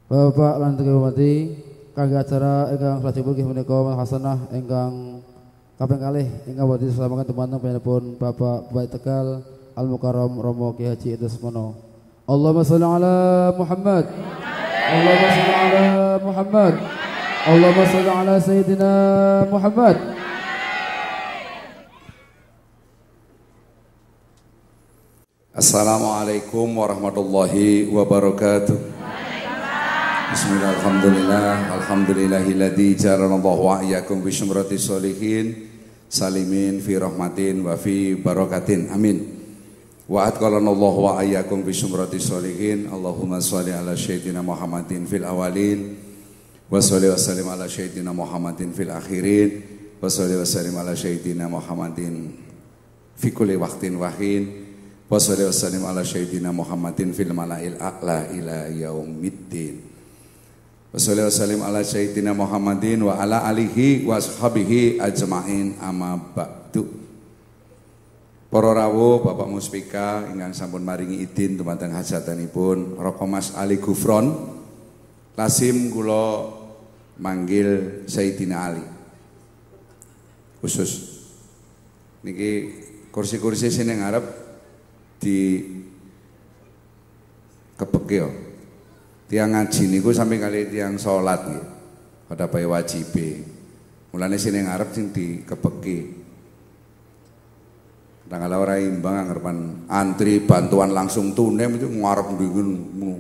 Bapak lan hormati kangge acara ingkang salajengipun nggih menika hasanah ingkang kaping kalih ingkang badhe disalamaken dumateng panjenenganipun Bapak Bupati Tegal Al Mukarram Romo Ki Haji Idrus Mono. Allahumma shalli ala Muhammad. Allahumma shalli ala Muhammad. Allahumma shalli ala Sayyidina Muhammad. Assalamualaikum warahmatullahi wabarakatuh. Bismillah, alhamdulillah, alhamdulillahilladzi ja'alallahu wa iyyakum bi syumrati sholihin salimin fi rahmatin wa fi barakatin. Amin. Wa atqalanallahu wa iyyakum bi syumrati sholihin. Allahumma shalli ala sayyidina Muhammadin fil awalin wa shalli wa sallim ala sayyidina Muhammadin fil akhirin wa shalli wa sallim ala sayyidina Muhammadin fi kulli waqtin wa hin wa shalli wa sallim ala sayyidina Muhammadin fil mala'il a'la ila yaumiddin. Wassallallahu wasallim ala sayyidina Muhammadin wa ala alihi wa ashabihi ajma'in amma ba'du. Para rawuh Bapak Muspika ingkang sampun maringi idin dumateng hajatanipun Roko Mas Ali Gufron, lazim kula manggil Sayyidina Ali. Khusus niki kursi-kursi sing ngarep di kebeki. Tiang ngaji niku sampai kali tiang sholat nggih. Pada bae wajibe. Mulane sing ngarep sing dikebeki. Tanggal ora imbang ngarepan antri bantuan langsung tunai itu ngarep ndingun.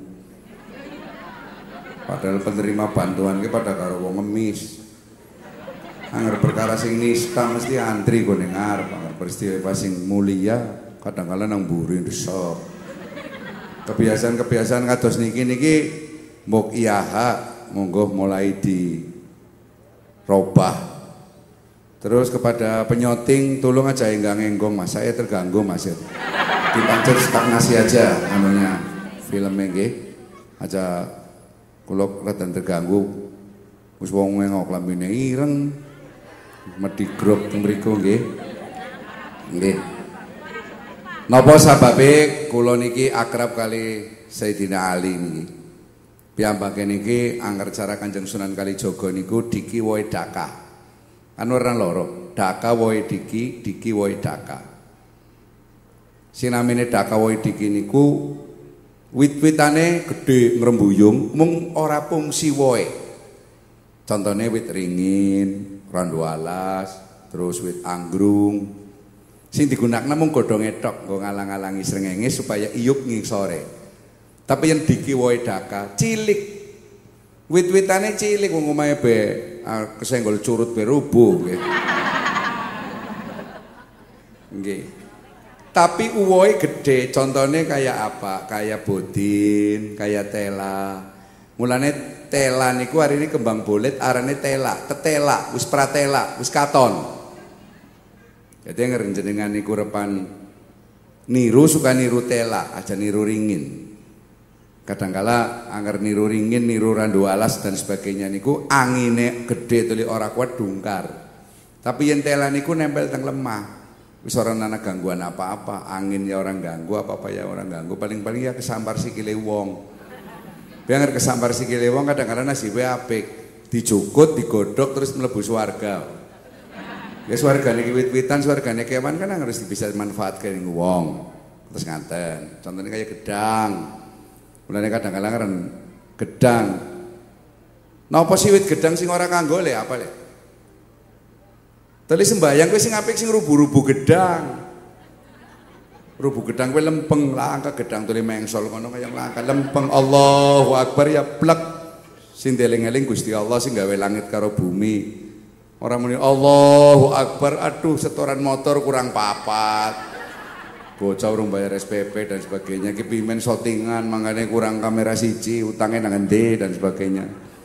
Padahal penerima bantuan ki pada karo wong ngemis. Angger perkara sing nista mesti antri kok ning ngarep, angger peristiwa sing mulia kadang-kala nang mburi ndesok. Kebiasaan-kebiasaan kados niki mbok iyaha monggo mulai dirubah. Terus kepada penyoting tolong aja enggong Mas, saya terganggu Mas. Dipancet stagnasi aja anunya filmnya nggih. Aja kula rada terganggu. Wis wong ngok lambene ireng. Medhi grup teng mriku nggih. Nggih. Napa sababe kula niki akrab kali Sayyidina Ali niki. Piyambake niki angger cara Kanjeng Sunan Kalijaga niku diki woe daka. Kan ora loro, daka woe diki, diki woe daka. Sinamine daka woe diki niku wit-witane gedhe ngrembuyung mung ora fungsi woe. Contone wit ringin, randu alas, terus wit anggrung. Sing digunakna mung godhonge tok nggo ngalang-alangi srengenge supaya iyup ngisore. Tapi yang diki woe daka cilik. Wit-witane cilik wong omahe be kesenggol curut be rubuh nggih. Nggih. Tapi uwoe gede, contone kayak apa? Kayak bodin, kayak tela. Mulane tela niku hari ini kembang bolet arane tela, tetela, wis pratela, wis katon. Jadi ngerenjenengan niku repan niru suka niru tela, aja niru ringin. Kadangkala anggar niru ringin, niru randu alas dan sebagainya niku angine gede tuli ora kuat dungkar. Tapi yen tela niku nempel teng lemah. Wis ora ana gangguan apa-apa, angin ya orang ganggu, apa-apa ya orang ganggu, paling-paling ya kesampar sikile wong. Biar kesampar sikile wong kadang-kadang nasibe apik, dicukut, digodhog terus mlebu swarga. Ya swargane wit-witan, swargane kewan kan harus bisa dimanfaatkan ning wong. Terus ngaten. Contohnya kayak gedang. Mulane kadang-kadang kan gedang. Napa sih wit gedang sing ora kanggo le apa le? Tali sembayang kowe sing apik sing rubu-rubu gedang. Rubu gedang kowe lempeng langka gedang tuli mengsol ngono kaya langka lempeng. Allahu Akbar ya plek. Sing eling-eling Gusti Allah sing gawe langit karo bumi. Orang muni Allahu Akbar, aduh setoran motor kurang papat. Bocah urung bayar SPP dan sebagainya, ki pimen shootingan mangane kurang kamera siji, utangnya nang endi dan sebagainya.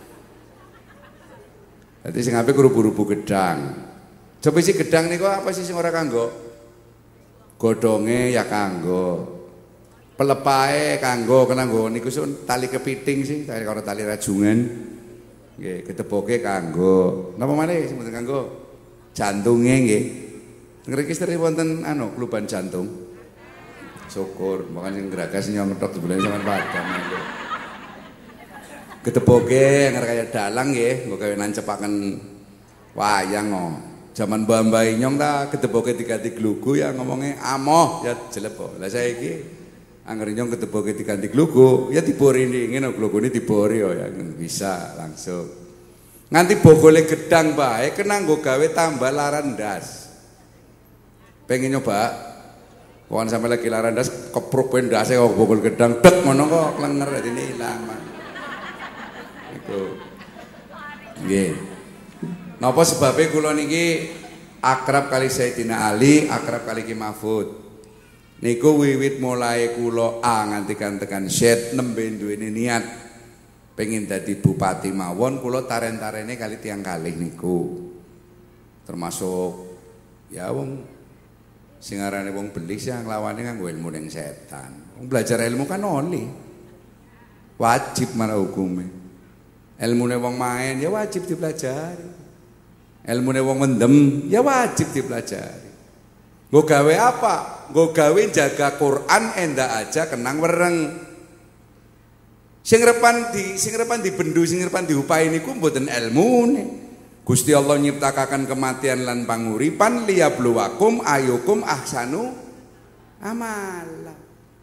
Dadi sing apik rubu-rubu gedang. Coba isi gedang niku apa sih sing ora kanggo? Godhonge ya kanggo. Pelepae kanggo, kanggo niku tali kepiting sih, tali karo tali rajungan. Nggih, keteboke kanggo. Napa maneh sing mboten kanggo? Jantunge nggih. Ngriki sering wonten kluban jantung. Syukur, makan sing geragas nyong ngetok jebule sampean padang. Gedeboke kaya dalang nggih, nggo gawe nancepaken wayang kok. Jaman Mbah Inyong ta gedeboke diganti glugu ya ngomongnya amoh ya jelep kok. Lah saiki angger Inyong gedeboke diganti glugu ya dibori ngene glugune dibori ya bisa langsung. Nganti bogole gedang bae kena nggo gawe tambah laran ndas. Pengen nyoba? Pokoknya sampai lagi laran ndas kepruk ndase kok bogol gedang dek ngono kok klenger dadi ilang. Iku. Nggih. Napa sebabnya kula niki akrab kali Sayyidina Ali, akrab kali Ki Mahfud. Niku wiwit mulai kula nganti tekan Z nembe duweni niat pengen dadi bupati mawon, kula taren-tarene kali tiang kalih niku. Termasuk ya wong sing arane wong belis yang lawane nganggo ilmu ning setan. Wong belajar ilmu kan oli. Wajib marang hukume. Ilmune wong main ya wajib dipelajari. Ilmune wong mendem ya wajib dipelajari. Nggo gawe apa? Nggo gawe jaga Quran endak aja kenang wereng. Sing repan dibendu, sing repan diupahi niku mboten ilmune. Gusti Allah nyiptakaken kematian lan panguripan liyabluwakum ayyukum ahsanu amala.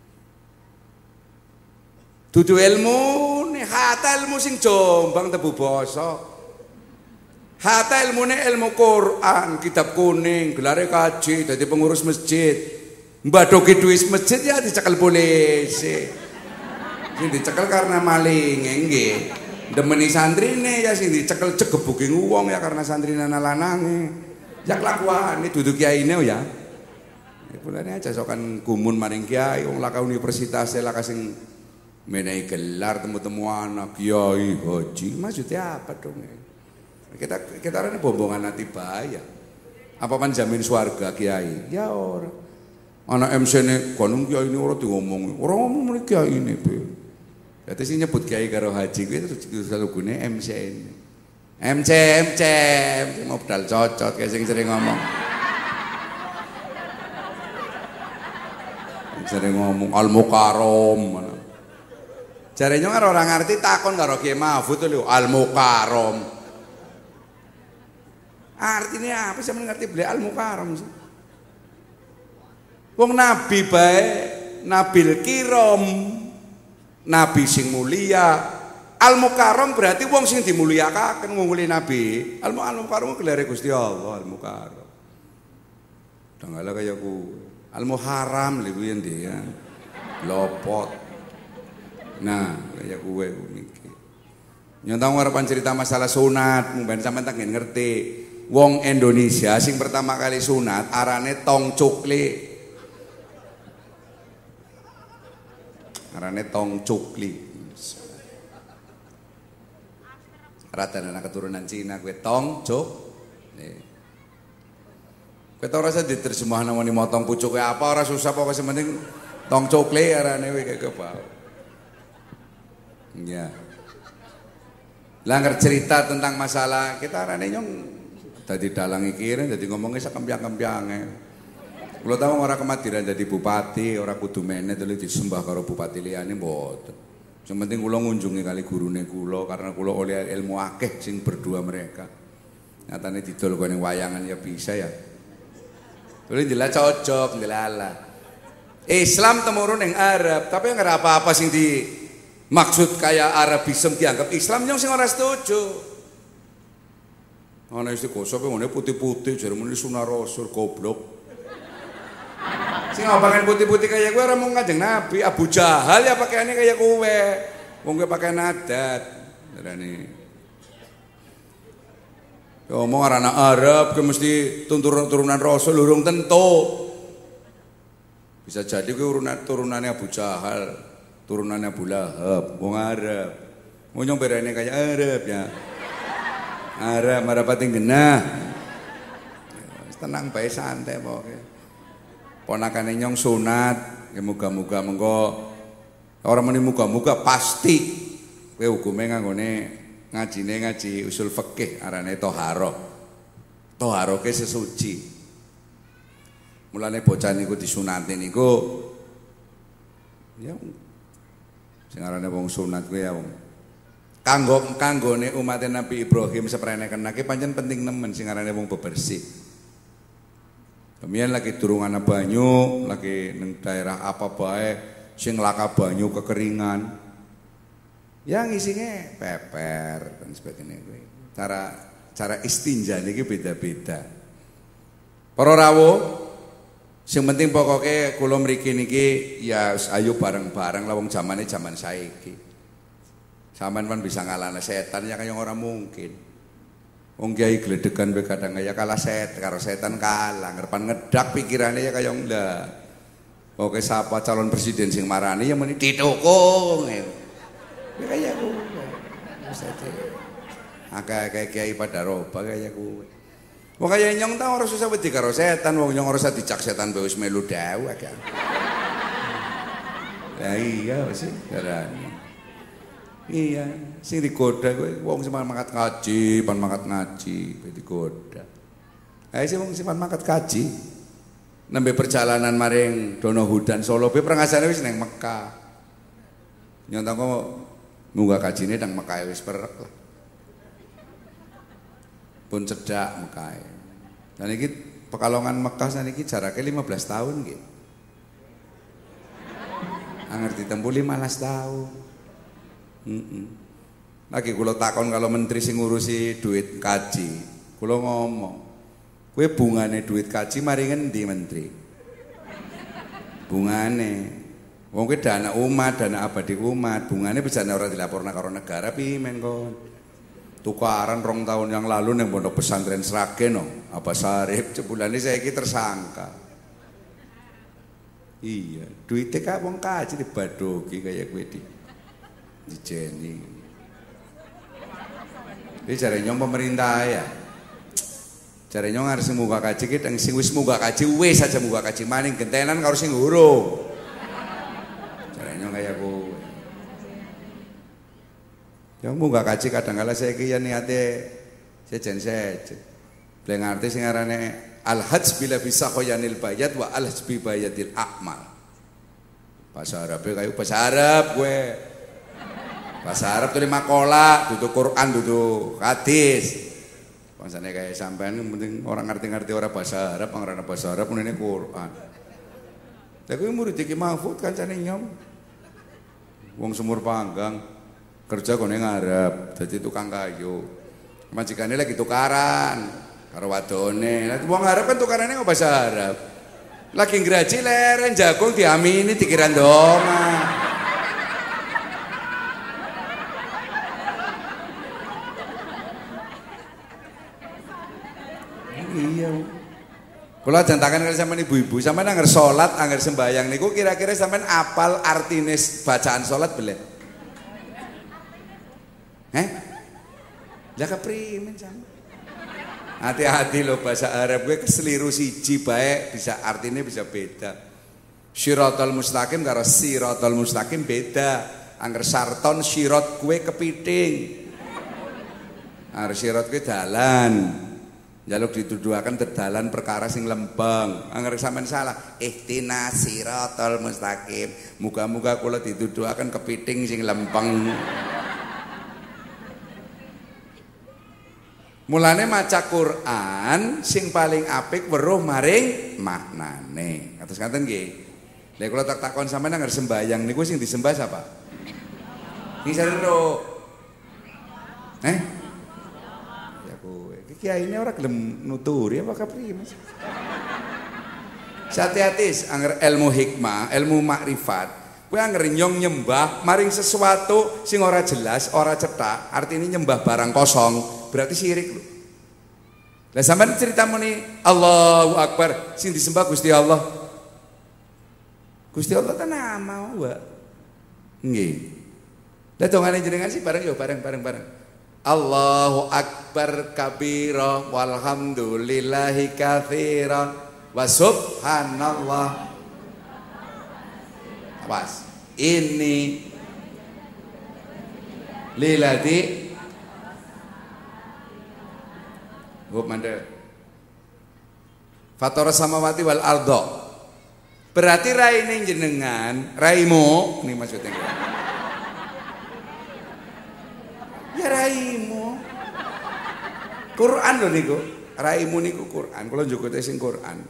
Dudu ilmune, hata ilmu sing jombang tebu basa. Hatta ilmune ilmu Quran, kitab kuning, gelare kaji, dadi pengurus masjid. Mbadoki duit masjid ya dicekel polisi. Sing dicekel karena maling, nggih. Demeni santrine ya sing dicekel cegebuking wong ya karena santrine ana lanange. Ya kelakuane dudu kiyaine ya. Mulane aja sokan gumun maring kiai wong laka universitas laka sing menehi gelar temu-temu anak kiai haji. Maksudnya apa dong? Kita ini bombongan hati bahaya. Apa man jamin swarga kiai? Ya ora. Anak MC ne konung kiai ini ora diomong. Ora ngomong mriki kiai ini, Be. Dadi sing nyebut kiai karo haji kuwi selalu gune MC ini. MC modal cocot kayak sing sering ngomong. Sering ngomong Al-Mukarram. Jarene ora ngerti takon karo Kiai Mahfud lho Al-Mukarram. Artinya apa sih mengerti beliau Al-Mukarram sih? Wong nabi bae, nabil kiram, nabi sing mulia. Al-Mukarram berarti wong sing dimulyakaken ngunguli nabi. Al-Mukarram gelare Gusti Allah Al-Mukarram. Dangala kaya ku Al-Muharram lho yen dia. Lopot. Nah, kaya kuwe niki. Nyontong harapan cerita masalah sunat, mungkin sampean tak ngerti. Wong Indonesia sing pertama kali sunat arane tong cukli. Arane tong cukli. Rata-rata keturunan Cina kue tong cuk. Kowe ta ora usah diterjemah namane motong pucuke apa ora susah pokoke sementing tong cukli arane kowe kaya bau. Ya. Langgar cerita tentang masalah kita arane nyong dadi dalang iki dadi ngomongnya sakempiang-kempiange. Kula tahu ora kemadiran dadi bupati, ora kudu menet disembah karo bupati liyane mboten. Sing penting kula ngunjungi kali gurune kula karena kula oleh ilmu akeh sing berdua mereka. Nyatane didol kene wayangan ya bisa ya. Kuwi jelas cocok ndelala. Islam temurun ning Arab, tapi ora apa-apa sing dimaksud kayak Arabisme dianggap Islam yang sing ora setuju. Ana istiqoso pe ngene putih-putih jare muni sunah rasul goblok. Sing pakai putih-putih kayak gue ora mung Kanjeng Nabi, Abu Jahal ya pakaiannya kayak kowe. Wong kowe pakaian adat. Darane. Yo omong anak Arab ke mesti turunan rasul urung tentu. Bisa jadi kowe turunannya Abu Jahal, turunannya Abu Lahab, wong Arab. Mau nyong berane kayak Arab ya. Arab pating genah. Tenang bae santai pokoke. Ponakane nyong sunat, ya muga-muga mengko ora muni muga-muga pasti kowe hukume nganggone ngaji usul fikih arane thaharah. Thaharah ke sesuci. Mulane bocah niku disunati niku ya sing arane wong sunat kuwi ya wong Kanggone umat Nabi Ibrahim seprene kenake pancen penting nemen sing arane wong bebersih. Kemudian lagi durung ana banyu, lagi ning daerah apa bae sing laka banyu kekeringan. Yang isinya peper dan sebagainya. Cara istinja niki beda-beda. Para rawuh, sing penting pokoknya kula mriki niki ya ayo bareng-bareng lah wong zamane zaman saiki. Sampeyan kan bisa ngalahne setan ya kaya ora mungkin. Wong kiai gledegan wae kadang ya kalah karo setan kalah, ngerepan ngedak pikirane ya kaya ndak. Oke sapa calon presiden sing marani ya muni ditukung. Ya kaya kuwi. Akeh kiai pada roba kaya kuwi. Wong kaya nyong ta ora susah wedi karo setan, wong nyong ora usah dicak setan wis melu dawa kan. Lah iya wis darane. Iya, sing digoda kowe wong sing mangkat ngaji, pan mangkat ngaji, digoda. Ae sing wong sing mangkat kaji. Nembe perjalanan maring Donohudan Solo be prangasane wis nang Mekah. Nyontong kok munggah kajine nang Mekah wis perek lah. Pun cedak Mekah. Dan iki Pekalongan Mekah saniki jarake 15 tahun nggih. Anger ditempuh 15 tahun. Lagi kula takon kalau menteri sing ngurusi duit kaji, kula ngomong, kowe bungane duit kaji mari ngendi menteri? Bungane, wong kowe dana umat, dana abadi umat, bungane bisa ora dilaporna karo negara pimen kon. Tukaran 2 tahun yang lalu nang pondok pesantren Sragen no, apa Sarip jebulane saiki tersangka. Iya, duite kak wong kaji dibadogi kaya kowe dijeni. Iki jare nyong pemerintah ya. Jare nyong harus muga kaji ki sing wis muga kaji wis aja muga kaji maning gentenan karo sing urung. Jare nyong kaya kowe. Yang muga kaji kadang-kala saiki ya niate sejen-sejen. Bleng arti sing arane al-hajj bila bisa khoyanil bayat wa al-hajj bi bayatil a'mal. Bahasa Arab kayu bahasa Arab kowe. Bahasa Arab tuh makola, duduk Quran, duduk hadis. Bangsane kayak sampean penting orang ngerti-ngerti orang bahasa Arab, pangrana bahasa Arab ini Quran. Tapi murid iki Mahfud kancane nyom. Wong Sumur Panggang kerja kone ngarep, jadi tukang kayu. Majikane lagi tukaran karo wadone. Lah wong Arab kan tukarane kok bahasa Arab. Lagi ngraji leren jagung diamini dikira ndonga. Iya. Kula jantakan kali sampean ibu-ibu, sampean angger salat, angger sembayang niku kira-kira sampean apal artine bacaan salat belen? Lah keprimen sampean? Hati-hati lho bahasa Arab gue keseliru siji bae bisa artine bisa beda. Syiratal mustaqim karo siratal mustaqim beda. Angger sarton sirat gue kepiting. Angger sirat gue dalan. Jaluk dituduhaken tedalan perkara sing lempeng. Angger sampean salah, ihtinas siratal mustaqim. Muga-muga kula dituduhaken kepiting sing lempeng. Mulane maca Quran sing paling apik weruh maring maknane. Kados ngaten nggih. Lha kula tak takon sampean angger sembayang niku sing disembah sapa? Iki sarero. Kiai ini orang gelem nuturi apa kapriye Mas? Hati-hati angger ilmu hikmah, ilmu makrifat. Kowe angger nyong nyembah maring sesuatu sing ora jelas, ora cetak, artine nyembah barang kosong, berarti syirik lho. Lah sampean cerita muni Allahu Akbar, sing disembah Gusti Allah. Gusti Allah kan nama wa. Nggih. Lah dongane jenengan sih bareng yo bareng. Allahu Akbar kabira walhamdulillahi katsiran wa subhanallah. Awas. Ini lilati Hub mande Fatara samawati wal ardo. Berarti raine jenengan, raimu ini maksudnya. Ya raimu. Quran lho niku. Raimu niku Quran. Kula njogote sing Quran.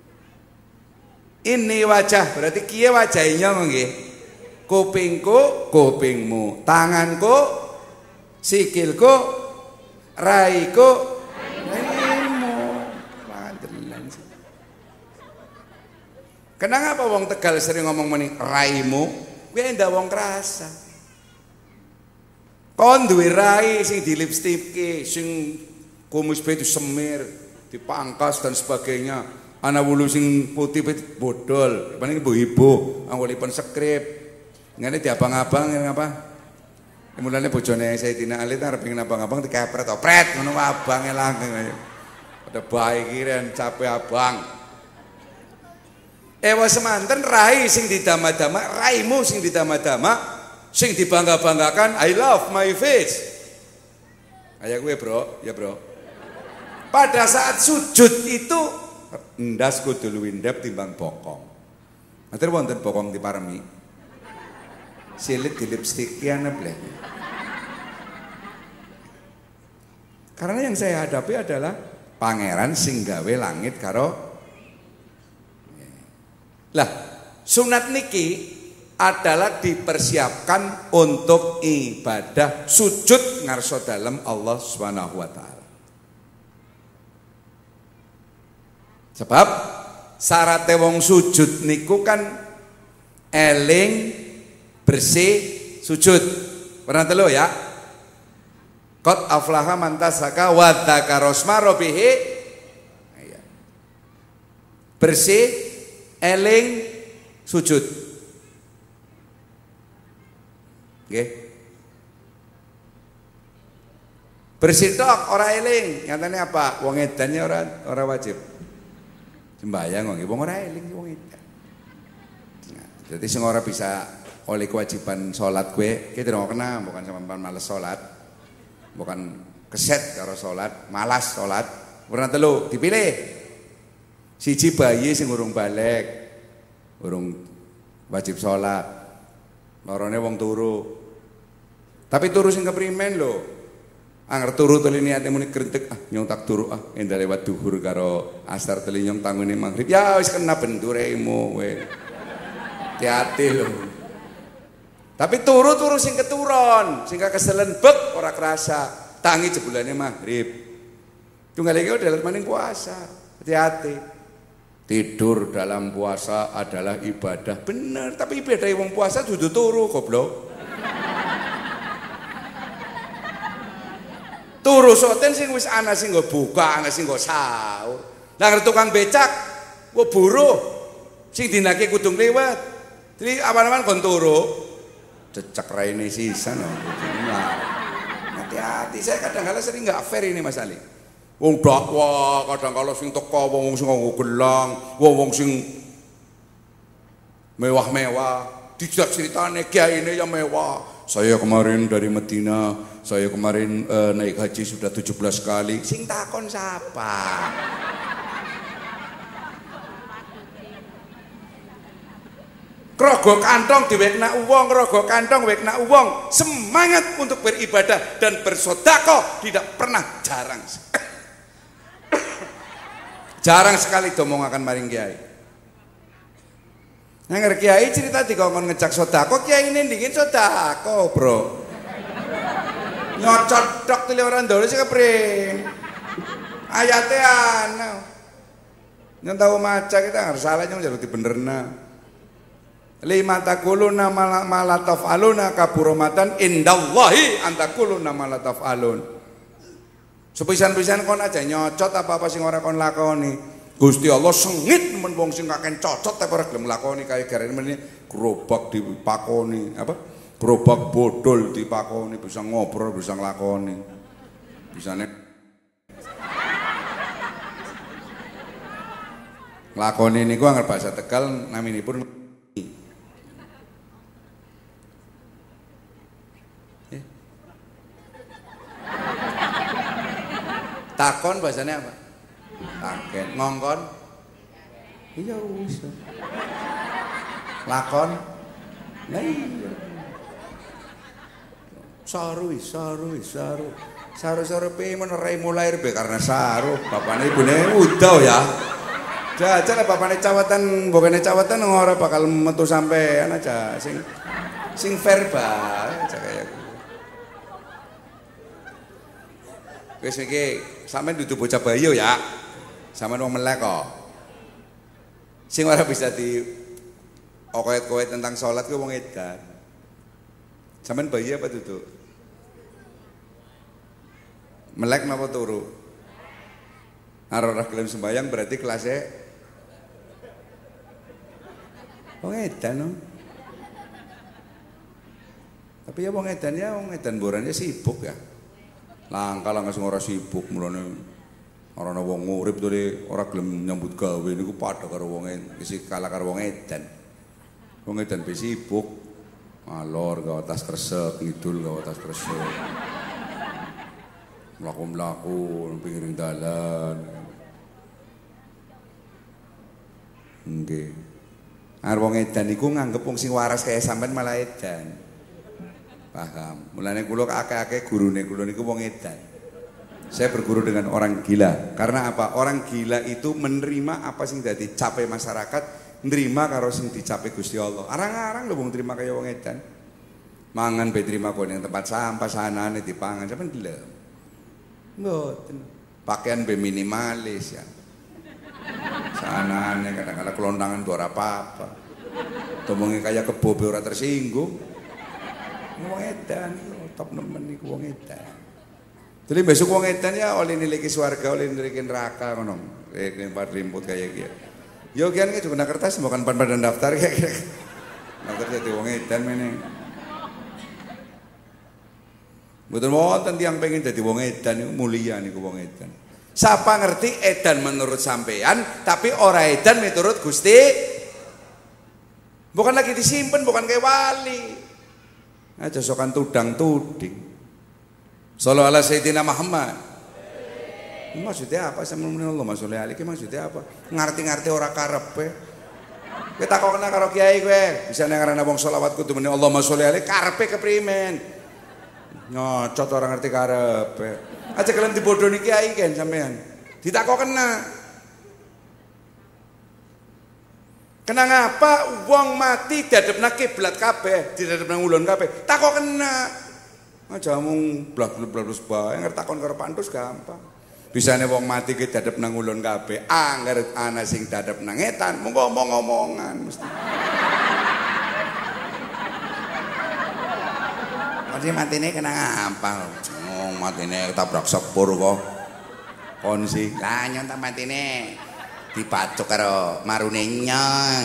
Ini wajah, berarti kiye wajahnya nggih? Kupingku, kupingmu, tanganku, sikilku, raiku, raimu. Kenapa wong Tegal sering ngomong meni raimu? Kuwi ndak wong krasa. Kon duwe rai sing dilipstike, sing kumis itu semir, dipangkas dan sebagainya. Ana wulu sing putih bodol, paling ibu-ibu, anggolipun skrip. Ngene diabang-abang ngapa? Mulane bojone Sayyidina Ali ta arep pengen abang-abang dikepret opret ngono abange langgeng ayo. Pada bae kiren capek abang. Ewa semanten rai sing didama-dama, raimu sing didama-dama, sing dibangga-banggakan, I love my face. Kayak gue bro, ya bro. Pada saat sujud itu ndas kudu luwih ndep timbang bokong. Matur wonten bokong diparemi. Silit di lipstick ya bleh. Karena yang saya hadapi adalah pangeran sing gawe langit karo. Lah, sunat niki adalah dipersiapkan untuk ibadah sujud ngarso dalem Allah Subhanahu wa taala. Sebab syarat wong sujud niku kan eling bersih sujud. Pernah telu ya? Qad aflaha man tasaka wa dzakara asma rabbih. Bersih eling sujud. Nggih. Bersih tok ora eling. Nyatane apa? Wong edan ya ora wajib. Sembayang nggih wong ora eling wong edan. Nah, jadi sing ora bisa oleh kewajiban sholat gue, kita tidak kena, bukan sama malas sholat, bukan keset karo sholat, malas sholat. Pernah telu dipilih, siji bayi sing urung balik, urung wajib sholat, lorone wong turu, tapi turu sing keprimen lho, angger turu teli niate muni grentek, nyong tak turu endah lewat duhur karo asar teli nyong tangune maghrib, ya wis kena benduremu, we, hati-hati lho. Tapi turu-turu sing keturun, sing keselen bek ora kerasa, tangi jebulane maghrib. Tunggal iki udah maning puasa. Hati-hati. Tidur dalam puasa adalah ibadah. Bener, tapi ibadah wong puasa dudu turu goblok. Turu soten sing wis ana sing nggo buka, ana sing nggo sahur. Lah tukang becak nggo buruh sing dinake kudu liwat. Jadi awan-awan kon turu. Cecak raine sisan. Hati-hati, saya kadang-kadang sering nggak fair ini Mas Ali. Wong dakwah kadang-kadang sing teko wong sing nganggo gelang, wong sing mewah-mewah, diceritane kiyaine yang mewah. Saya kemarin dari Medina, saya kemarin naik haji sudah 17 kali. Sing takon siapa? Rogo kantong diwekna uwong, rogo kantong wekna uwong. Semangat untuk beribadah dan bersedekah tidak pernah jarang. Jarang sekali domongaken maring kiai. Nang kiai cerita dikongkon ngejak sedekah, kiai ini dingin sedekah, bro. Nyocot tok tile ora ndole sing kepring. Ayate ana. Yen tau maca kita harus salah nyong jaluk dibenerna. Lima takuluna malataf aluna kaburomatan indallahi antakuluna malataf alun. Sepisan-pisan kon aja nyocot apa-apa sing ora kon lakoni. Gusti Allah sengit men wong sing kakek cocot tapi ora gelem lakoni kaya garane meneh gerobak dipakoni apa? Gerobak bodol dipakoni bisa ngobrol bisa nglakoni. Bisane nglakoni niku anggar bahasa Tegal naminipun takon bahasanya apa? Taken, ngongkon. Iya wis. Lakon. Lah iya. Saru. Saru pe menerai mulai be karena saru. Bapakne ibune udah ya. Jajal bapakne cawatan, bokene cawatan ora bakal metu sampean aja sing fair bae aja kaya gitu. Wis iki sampean dudu bocah bayi ya. Sampean wong melek kok. Sing ora bisa di okoet-koet tentang sholat ku wong edan. Sampean bayi apa duduk? Melek napa turu? Ora gelem sembayang berarti kelasnya wong edan no. Tapi ya wong edan borane sibuk ya. Langka langsung ora sibuk mulane ora ana wong urip to ora gelem nyambut gawe niku padha karo wong isi kalah karo wong edan. Wong edan be sibuk alor gawe tas kresek, ngidul gawe tas kresek. Mlaku-mlaku pinggir dalan. Nggih. Arep wong edan niku nganggep wong sing waras kaya sampean malah edan. Paham. Mulane kula akeh-akeh gurune kula niku wong edan. Saya berguru dengan orang gila. Karena apa? Orang gila itu menerima apa sing dadi capai masyarakat, nerima karo sing dicapai Gusti Allah. Arang-arang lho wong trima kaya wong edan. Mangan be trima kok ning tempat sampah sanane dipangan sampean gelem. Mboten. Pakaian be minimalis ya. Sanane kadang-kadang kelontangan ora apa-apa. Tomonge kaya kebo be ora tersinggung. Wong edan top nemen niku wong edan. Jadi besok wong edan ya oleh niliki swarga, oleh niliki neraka ngono. Nek rimput kaya iki. Yo kian iki juga kertas bukan pan-pan daftar kaya. Daftar dadi wong edan meneh. Mboten wonten tiyang pengen dadi wong edan niku mulia niku wong edan. Siapa ngerti edan menurut sampean, tapi ora edan menurut Gusti. Bukan lagi disimpen, bukan kayak wali. Aja sokan tudang tuding. Sallallahu ala sayyidina Muhammad. Maksudnya apa sama Allah maksudnya aliki maksudnya apa? Ngerti-ngerti ora karepe. Kowe takokna karo kiai kowe, bisa nang ngarana wong selawat kudu muni Allahumma sholli alaihi karepe keprimen. Nyocot ora ngerti karepe. Aja kalian dibodoni kiai kan sampean. Ditakokna. Kena ngapa wong mati dadepna kiblat kabeh, didadepna ngulon kabeh. Takok kena. Aja mung blak-blak bae ngertakon karo pantus gampang. Bisane wong mati ki dadepna ngulon kabeh, angger ana sing dadepna ngetan, mung ngomong-ngomongan mesti. Mati matine kena ngapa? Oh, matine ketabrak sepur kok. Kon sih, lah nyon ta matine. Dipacuk karo marune nyong.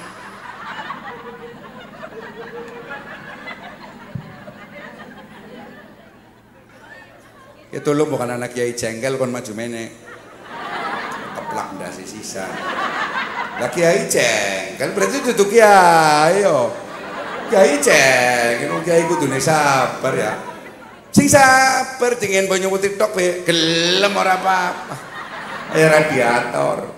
Itu lo bukan anak kiai jengkel kon maju meneh. Keplak ndase sisa. Lah kiai jengkel berarti dudu kiai yo. Kiai jengkel kiai kudune sabar ya. Sing sabar dingin banyu TikTok be gelem ora apa-apa. Radiator.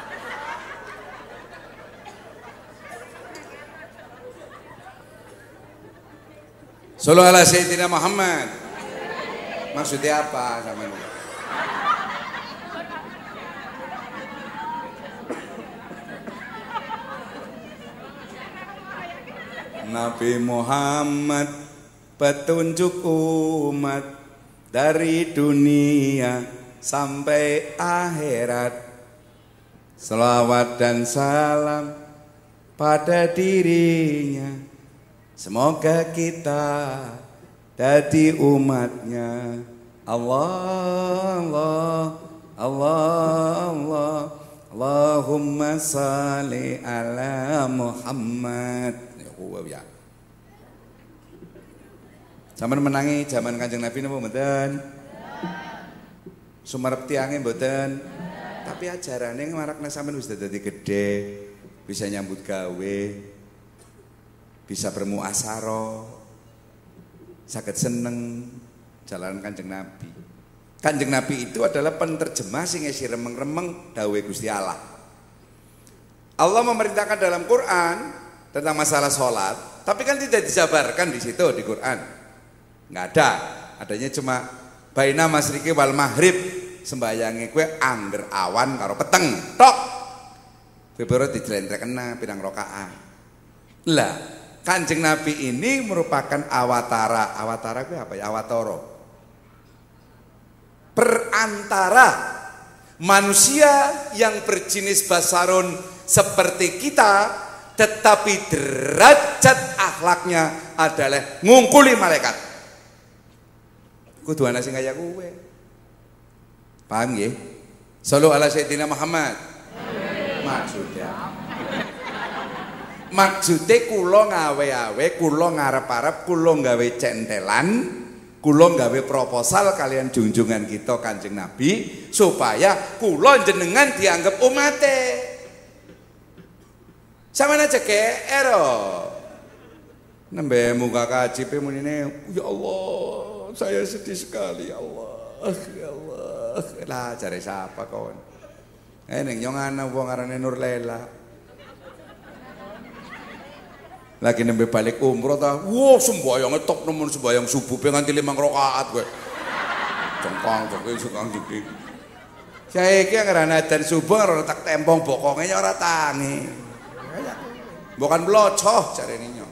Sallallahu ala sayyidina Muhammad. Maksudnya apa sama ini? Nabi Muhammad petunjuk umat dari dunia sampai akhirat. Selawat dan salam pada dirinya. Semoga kita jadi umatnya. Allah, Allah, Allah, Allah. Allahumma salli ala Muhammad. Ya. Zaman menangi zaman Kanjeng Nabi napa mboten? Sumarep tiange mboten. Tapi ajarane marakna sampean wis dadi gedhe, bisa nyambut gawe, bisa bermuasaro, saged seneng jalan Kanjeng Nabi. Kanjeng Nabi itu adalah penerjemah sing isi remeng-remeng dawuh Gusti Allah. Allah memerintahkan dalam Quran tentang masalah sholat, tapi kan tidak dijabarkan di situ di Quran. Nggak ada. Adanya cuma baina masriki wal maghrib. Sembayange kowe angger awan karo peteng. Tok. Kowe baru dijlentrekna pirang rakaat. Lah, Kanjeng Nabi ini merupakan awatara. Awatara kowe apa ya? Awatara. Perantara manusia yang berjenis basarun seperti kita, tetapi derajat akhlaknya adalah ngungkuli malaikat. Kudu ana sing kaya kowe. Paham nggih? Shallu ala sayyidina Muhammad. Maksudnya kula ngawe-awe, kula ngarep-arep, kula gawe centelan, kula gawe proposal kalian junjungan kita Kanjeng Nabi supaya kula jenengan dianggap umate. Sampeyan aja GR. Nembe muka kaji pe munine, ya Allah, saya sedih sekali ya Allah. Ya Allah. Lah cari siapa kawan? Ning nyong ana wong arane Nur Lela. Lagi nembe balik umroh ta. Wah, sembayang top nemen sembayang subuh pe nganti 5 rakaat kowe. Cengkang iki. Saiki ngarana adzan subuh karo tak tempong bokonge ora tangi. Bukan blocoh jarene nyong.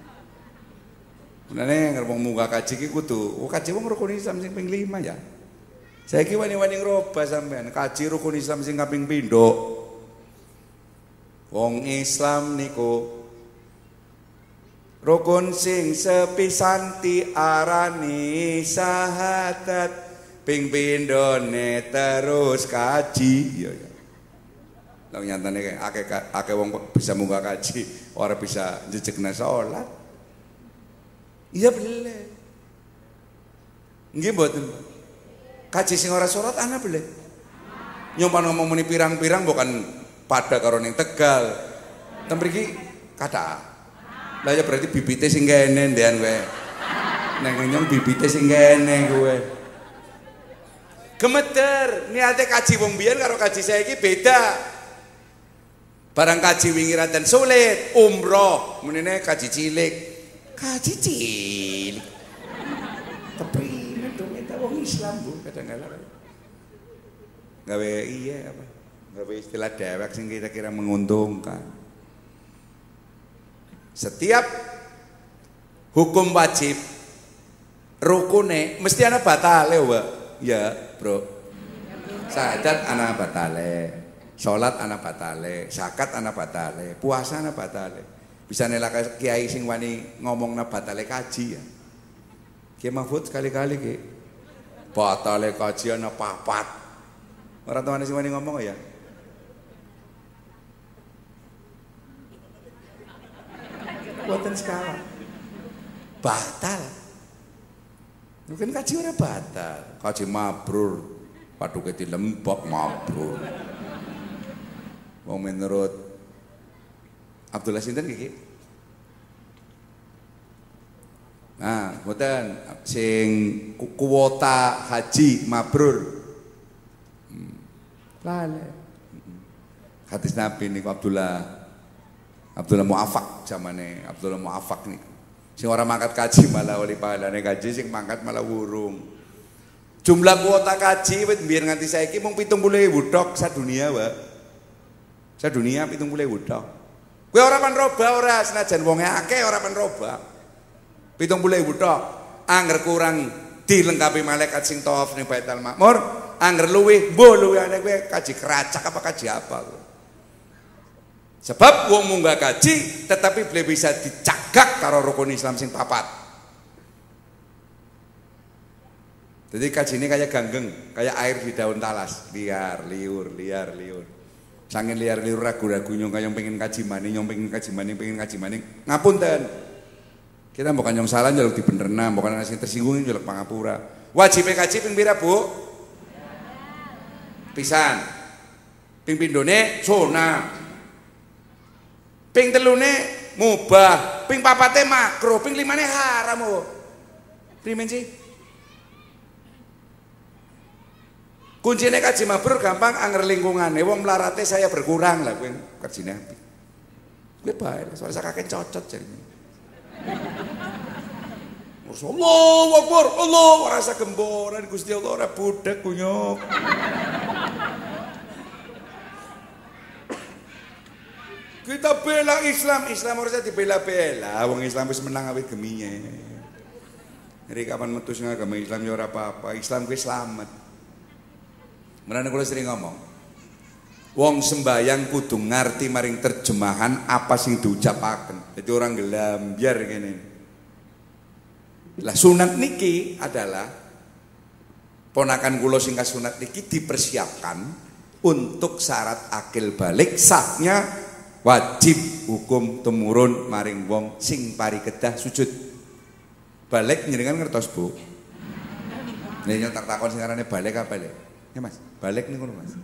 Menane ngrepong muka kaji ki kudu, kaji wong rukun Islam sing ping 5 ya. Saiki wani-wani ngrobah sampean, kaji rukun Islam sing kaping pindho. Wong Islam niku rukun sing sepisanti arani syahadat, ping pindhone terus kaji. Ya. Lah nyatane akeh wong bisa muka kaji, ora bisa njejegna salat. Iya boleh. Nggih mboten. Kaji sing ora salat ana boleh. Nyompan ngomong muni pirang-pirang bukan pada karo ning Tegal. Ten mriki kathah. Lah ya berarti bibite sing kene ndean kowe. Nang nyong bibite sing kene kowe. Gemeter, niate kaji wong biyen karo kaji saiki beda. Barang kaji wingi dan sulit, umroh, menene kaji cilik. Kaji cilik. Tapi itu wong Islam Bu, kadang-kadang. Gawe iya apa? Gawe istilah dewek sing kira-kira menguntungkan. Setiap hukum wajib rukune mesti ana batale, Mbak. Ya, Bro. Syahadat ana batale. Sholat anak batale, zakat anak batale, puasa anak batale. Bisa nelak kiai sing wani ngomong na batale kaji ya. Kiai Mahfud sekali-kali ki. Batale kaji anak papat. Orang tuane sing wani ngomong ya. Buatan sekarang. Batal. Mungkin kaji ora batal. Kaji mabrur. Paduke dilembok mabrur. Wong menurut Abdullah sinten iki? Nah, mboten sing kuota haji mabrur. Lale. Hadis Nabi niku Abdullah Mu'afak zamane Abdullah Mu'afak niku. Sing ora mangkat kaji malah oleh pahalane kaji, sing mangkat malah wurung. Jumlah kuota kaji wit biyen nganti saiki mung 70.000 tok sadunia, Pak. Sadunia 70.000 tok. Kowe ora panroba ora senajan wonge akeh ora panroba. 70.000 tok. Angger kurang dilengkapi malaikat sing tawaf ning Baitul Ma'mur, angger luwih mbuh luwihane kowe kaji keracak apa kaji apa. Sebab wong munggah kaji tetapi beliau bisa dicagak karo rukun Islam sing papat. Jadi kaji ini kayak ganggeng, kayak air di daun talas, liar liur. Sangin liar liur ragu-ragu nyong kayong pengen kaji maning, pengen kaji maning. Ngapunten. Kita bukan nyong salah njaluk dibenerna, bukan ana sing tersinggung njaluk pangapura. Wajib kaji ping pira, Bu? Pisan. Ping pindhone sunah. Ping telune mubah, ping papate makruh, ping limane haram, Bu. Primen sih? Kuncinya kaji mabrur gampang anger lingkungannya, wong melarate saya berkurang lah, kowe kerjine apik. Kowe bae, soalnya saya kakek cocot jadi. Allahu Akbar, Allah rasa gemboran Gusti Allah ora budak kunyuk. Kita bela Islam, Islam harusnya dibela-bela. Wong Islam wis menang awit geminya. Jadi kapan metu sing agama Islam ya ora apa-apa, Islam kuwi slamet. Mulane kula sering ngomong, wong sembayang kudu ngerti maring terjemahan apa sing diucapaken. Jadi orang gelambiar kene. Lah sunat niki adalah ponakan kula sing kasunat niki dipersiapkan untuk syarat akil balik sahnya wajib hukum temurun maring wong sing pari kedah sujud. Balik njenengan ngertos, Bu? Nek tak takon sing arane balik apa balik? Ya Mas, balik niku lho Mas.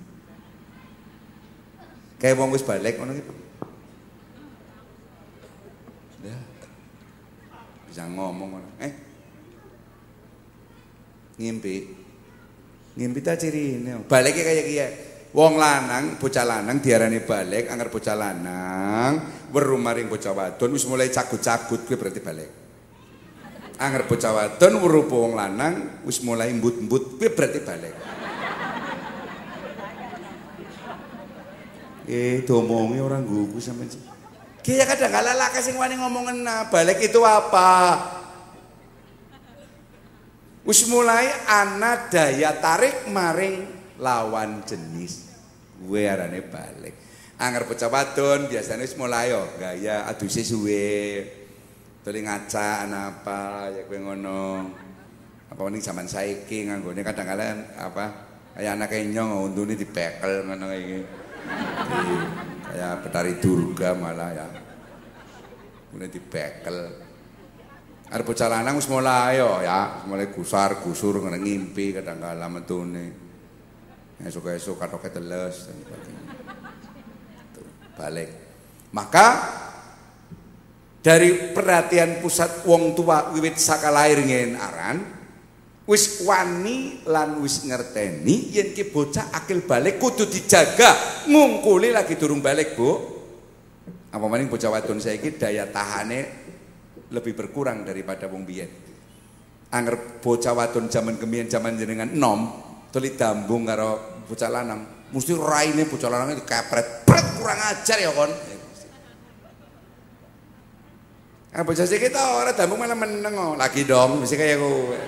Kayak wong wis balik ngono iki. Ya. Bisa ngomong ngono. Ngimpi ta cirine. Balike kaya kiye. Wong lanang, bocah lanang diarani balik, angger bocah lanang weruh maring bocah wadon wis mulai cagut-cagut kuwi berarti balik. Angger bocah wadon weruh wong lanang wis mulai embut-embut kuwi berarti balik. Domongi orang gugu sampean. Ki ya kadang kala laka sing wani ngomong balik itu apa? Wis mulai ana daya tarik maring lawan jenis. Gue arane balik. Angger bocah wadon biasanya wis mulai yo gaya aduse suwe. Tuli ngaca ana apa ya kowe ngono. Apa ning zaman saiki nganggone kadang-kadang apa kaya anak enyong untune dipekel ngono iki. Kayak Betari Durga malah ya. Kemudian dibekel. Arep bocah lanang wis mulai yo ya, mulai gusar-gusur ngene ngimpi kadang-kala metune. Esuk-esuk katoke teles dan sebagainya. Balik. Maka dari perhatian pusat wong tua wiwit saka lair ngen aran wis wani lan wis ngerteni yen ki bocah akil balik kudu dijaga ngungkuli lagi durung balik, Bu. Apa maning bocah wadon saiki daya tahane lebih berkurang daripada wong biyen. Angger bocah wadon zaman kemiyen zaman jenengan enom tuli dambung karo bocah lanang, mesti raine bocah lanang dikepret, pret kurang ajar ya kon. Bocah saiki ta ora dambung malah meneng lagi dong, mesti kaya kowe.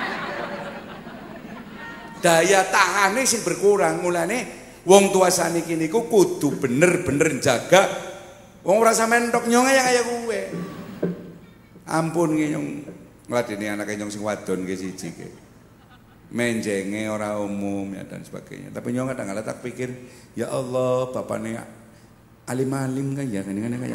Daya tahane sing berkurang, mulane wong tua saniki niku kudu bener-bener jaga wong ora sampean tok nyong kaya kowe. Ampun nggih nyong ngladeni anake nyong sing wadon nggih siji nggih. Menjenge ora umum ya dan sebagainya. Tapi nyong kadang-kadang tak pikir, ya Allah, bapakne alim-alim kan ya ngene kaya.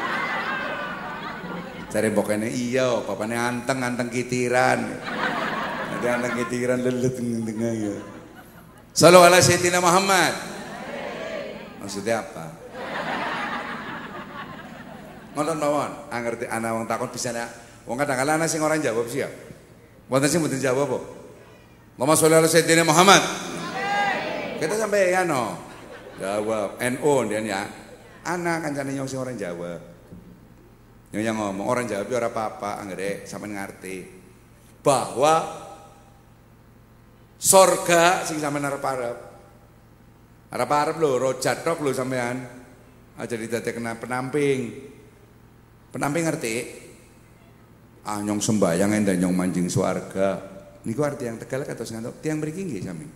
Cari bokene iya, bapakne anteng-anteng kitiran. Ada anak ketiran lelet tengah ya. Sallu ala Sayyidina Muhammad. Maksudnya apa? Ngoten mawon, angerti ana wong takon bisa nek wong kadang-kadang ana sing ora jawab sih ya. Wonten sing mboten jawab apa? Allahumma sholli ala Sayyidina Muhammad. Kita sampai ya no. Jawab NO dia ya. Ana kancane nyong sing ora jawab. Yang ngomong orang jawab ora apa-apa, anggere sampean ngerti bahwa sorga sing sampean arep-arep. Arep-arep lho, rojat tok lho sampean. Aja didadekna penamping. Penamping ngerti? Ah nyong sembayang endah nyong manjing swarga. Niku arti yang Tegal kados ngantuk tiyang mriki nggih sami.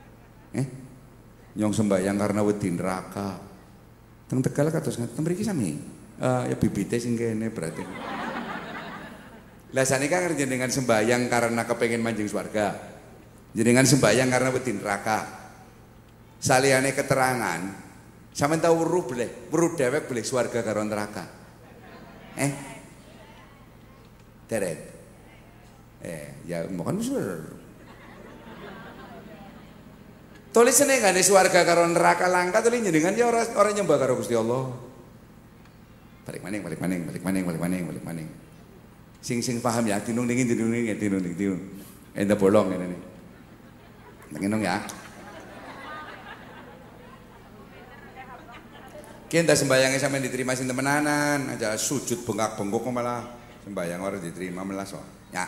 Nyong sembayang karena wedi neraka. Teng Tegal kados ngantuk mriki sami. Ya bibite sing kene berarti. Lah sanika jenengan sembayang karena kepengin manjing swarga. Jenengan sembayang karena wedi neraka. Saliyane keterangan, sampeyan tau weruh dhewek boleh swarga karo neraka. Deret. Ya mohon sur. Tulisane gane swarga karo neraka langka tulis jenengan ya ora nyembah karo Gusti Allah. Balik maning. Sing paham ya, tinung dingin. Enda bolong ini nih. Nginung ya. Kita sembayangnya sampai diterima sing temenanan, aja sujud bengkak-bengkok malah sembayang orang diterima malah so. Ya.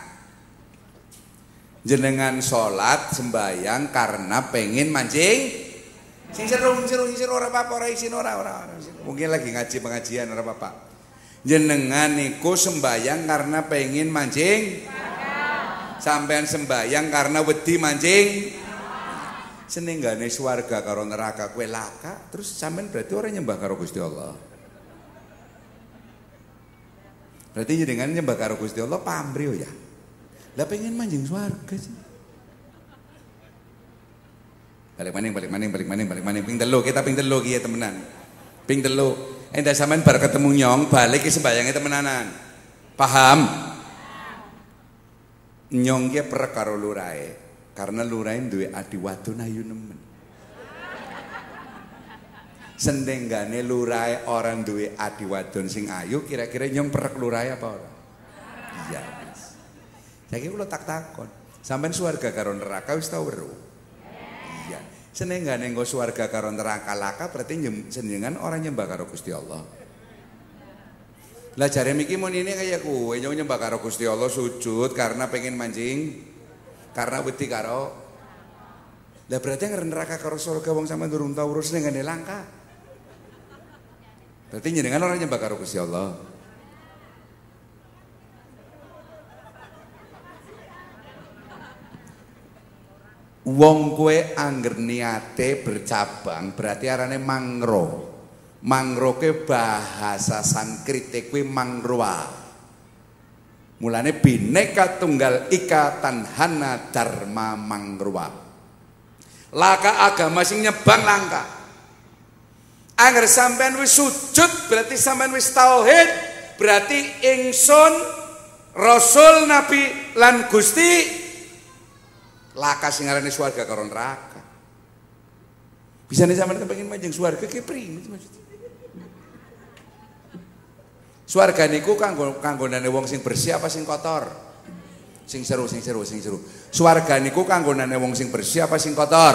Jenengan sholat sembayang karena pengen mancing. Sing seru ora apa-apa, ora isin ora. Mungkin lagi ngaji pengajian ora apa-apa. Jenengan niku sembayang karena pengen mancing. Sampean sembayang karena wedi mancing. Senenggane swarga karo neraka kowe laka, terus sampean berarti orang nyembah karo Gusti Allah. Berarti jenengan nyembah karo Gusti Allah pamrih ya. Lah pengen manjing swarga sih. Balik maning ping telu kita ping telu ki ya temenan. Ping telu endah sampean bar ketemu nyong balik ki sembayange temenanan. Paham? Nyong ki perek karo lurae. Karena lurae duwe adi wadon ayu nemen. Sendenggane lurae orang duwe adi wadon sing ayu, kira-kira nyong perek lurae apa ora? Iya wis. Saiki kula takon, sampean swarga karo neraka wis tau weruh? Iya. Senenggane engko swarga karo neraka laka berarti senengan orang nyembah karo Gusti Allah. Lah jare miki mun ini kaya kowe nyembah karo Gusti Allah sujud karena pengen mancing. Karena wedi karo. Lah berarti neraka karo surga wong sampean durung tau urus ning ngene langka. Berarti njenengan ora nyembah karo Gusti Allah. Wong kowe angger niate bercabang berarti arane mangro. Mangro ke bahasa Sanskrite kuwi mangroa. Mulane bineka tunggal ika tanhana dharma mangroa. Laka agama sing nyebang langka. Angger sampean wis sujud berarti sampean wis tauhid, berarti ingsun Rasul Nabi lan Gusti laka sing arane swarga karo neraka. Bisane sampean kepengin manjing swarga ki priye maksud. Swarga niku kanggonane wong sing bersih apa sing kotor? Sing seru. Swarga niku kanggonane wong sing bersih apa sing kotor?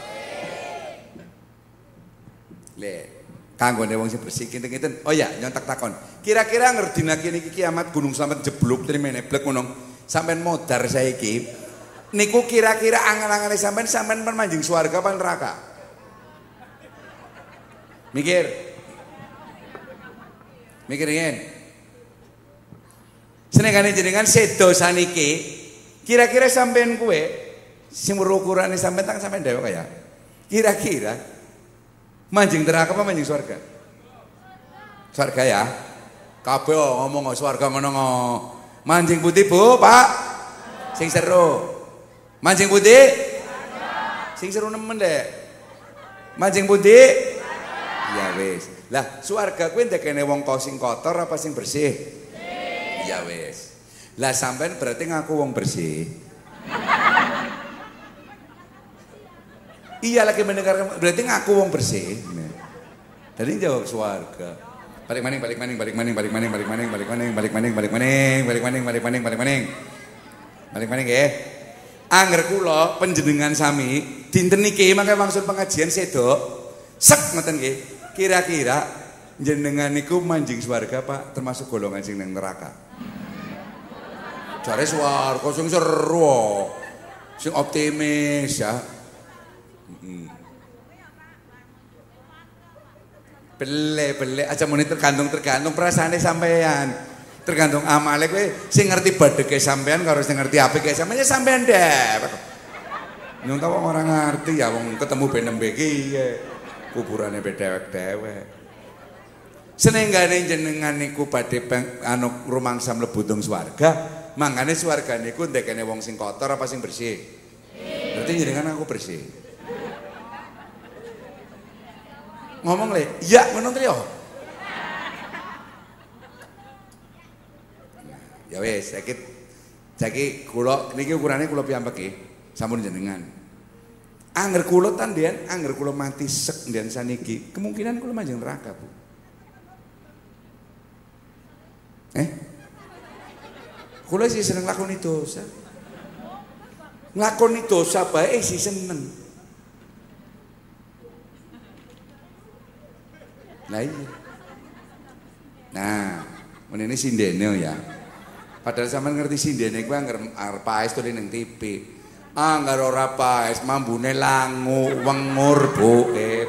Le, kanggone wong sing bersih kinten-kinten. Oh ya, nyontak takon. Kira-kira ngerdina kene iki kiamat gunung sampean jeblok trimene blek ngono. Sampean modar saiki. Niku kira-kira angan-angane sampean manjing swarga apa neraka? Mikirin. Senengane jenengan sedo saniki, kira-kira sampean kowe sing ukurane sampean tang sampean dhewe kaya. Kira-kira manjing neraka apa manjing swarga? Swarga ya. Kabeh ngomong swarga ngono. Manjing putih, Bu, Pak. Sing seru. Manjing putih? Sing seru nemen, Dek. Manjing putih? Ya wis. Lah swarga kuwi ndekene wong sing kotor apa sing bersih? Ya wis. Lah sampean berarti ngaku wong bersih. Iya lagi mendengar berarti ngaku wong bersih. Jadi jawab swarga. Balik maning nggih. Angger kula panjenengan sami dinten niki mangke maksud pengajian sedo. Sek ngoten nggih. Kira-kira jenengan niku manjing swarga Pak termasuk golongan sing nang neraka. Jare swarga sing seru. Sing optimis ya. Bele aja muni tergantung perasaane sampean. Tergantung amale kowe sing ngerti badheke sampean karo sing ngerti apike sampean deh. Nyong ta wong ora ngerti ya wong ketemu benembe iki kuburane dewek-dewek. Senenggane jenengan niku badhe rumangsa mlebu teng swarga, mangane swarga niku ndekene wong sing kotor apa sing bersih? Berarti jenengan aku bersih. Ngomong le, iya ngono to. Ya wis, saiki kula niki ukurane kula piyambak nggih, sampun jenengan. Angger kula tandian, angger kula mati sek ndian saniki, kemungkinan kula manjing neraka, Bu. Kula sih seneng lakoni dosa. Nglakoni dosa bae sih seneng. Lah iya. Nah, menene sindene ya. Padahal sampean ngerti sindene kuwi angger arep paes to ning TV. Anggar ora paes mambune langu wengur boke.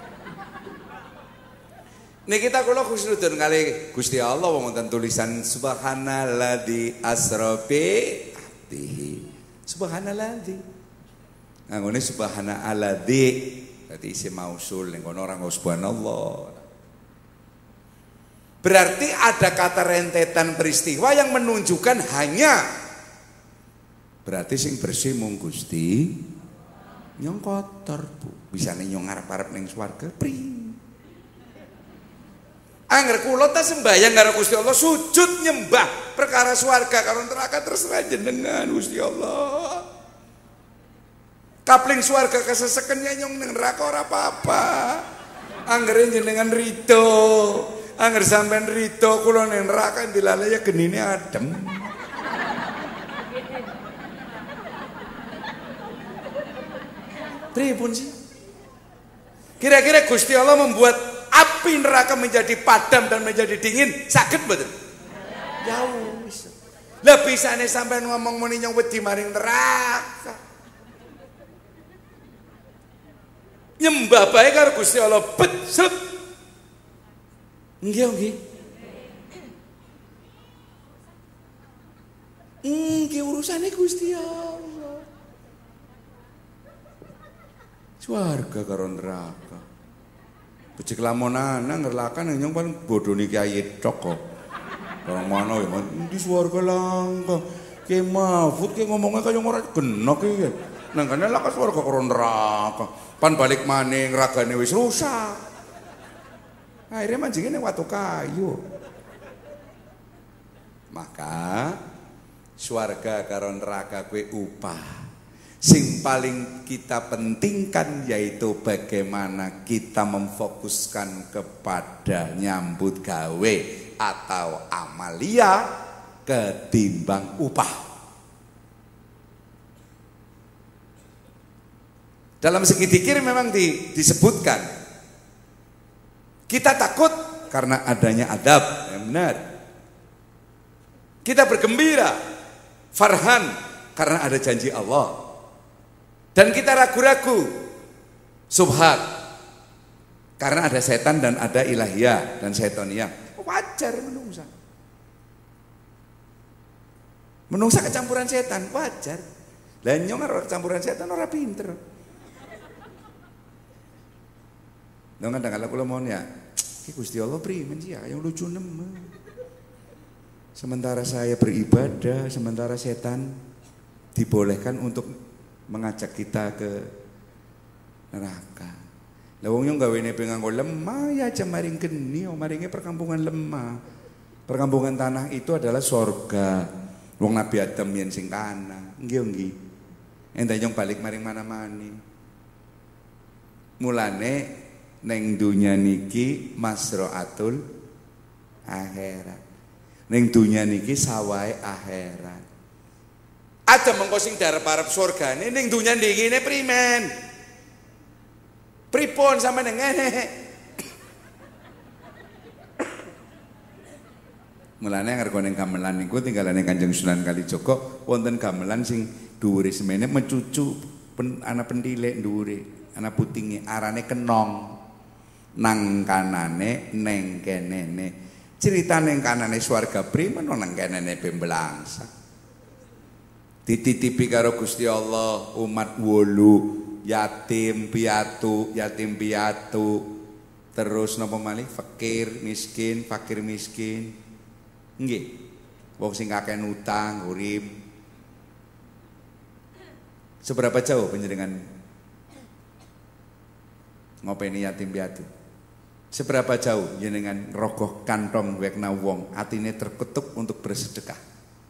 Niki kita kula khusnudun kali Gusti Allah wonten tulisan subhanalladzi asra bi abdihi. Subhanalladzi. Nggone subhanalladzi berarti isim mausul ning kono ora subhanallah. Berarti ada kata rentetan peristiwa yang menunjukkan hanya berarti sing bersih mung Gusti nyong kotor Bu. Bisane nyong arep-arep ning swarga pri. Angger kula ta sembayang karo Gusti Allah sujud nyembah perkara swarga karo neraka terserah jenengan Gusti Allah. Kapling swarga keseseken nyong ning neraka ora apa-apa. Angger jenengan rido. Angger sampean rido kula ning neraka dilale ya genine adem. Pripun sih? Kira-kira Gusti Allah membuat api neraka menjadi padam dan menjadi dingin, sakit betul? Jauh. Lah bisane sampean ngomong muni nyong wedi maring neraka. Nyembah bae karo Gusti Allah becet. Nggih nggih. Nggih urusane Gusti Allah. Swarga karo neraka. Becik lamonan ngerlakan nyong kan bodoni Kyai tok kok. Orang mana ya di swarga langka. Ki Mahfud ki ngomongnya kaya ora genok iki. Nang kene lak swarga karo neraka. Pan balik maning ragane wis rusak. Akhirnya manjingin ning watu kayu. Maka swarga karo neraka kuwi upah. Sing paling kita pentingkan yaitu bagaimana kita memfokuskan kepada nyambut gawe atau amalia ketimbang upah. Dalam segi dzikir memang disebutkan kita takut karena adanya adab, yang benar. Kita bergembira, farhan karena ada janji Allah. Dan kita ragu-ragu, subhat, karena ada setan dan ada ilahiyah dan setoniyah. Wajar menungsa. Menungsa kecampuran setan, wajar. Lah nyong karo campuran setan ora pinter. Lha kadang-kadang kula mohon ya, iki Gusti Allah primen sih ya, yang lucu nemen. Sementara saya beribadah, sementara setan dibolehkan untuk mengajak kita ke neraka. Lah wong yo gawene penganggo lemah ya aja maring geni, maringe perkampungan lemah. Perkampungan tanah itu adalah sorga. Wong Nabi Adam yen sing kana. Nggih nggih. Endah nyong balik maring mana-mani. Mulane neng dunya niki masraatul akhirat. Neng dunya niki sawahe akhirat. Ada mengko sing darep-arep surgane ning dunya ndikine primen. Pripun sampeyan ngene. Mulane ngarep ning gamelan niku tinggalane Kanjeng Sunan Kalijaga wonten gamelan sing dhuwure semene mencucu anak pentilek dhuwure, anak putinge arane kenong. Nang kanane neng kenene. Critane nang kanane swarga primen nang kenene bembelangsa. Dititipi karo Gusti Allah umat wolu yatim piatu terus napa malih fakir miskin nggih wong sing akeh utang urip. Seberapa jauh panjenengan ngopeni yatim piatu? Seberapa jauh jenengan rogoh kantong wekna wong atine terketuk untuk bersedekah?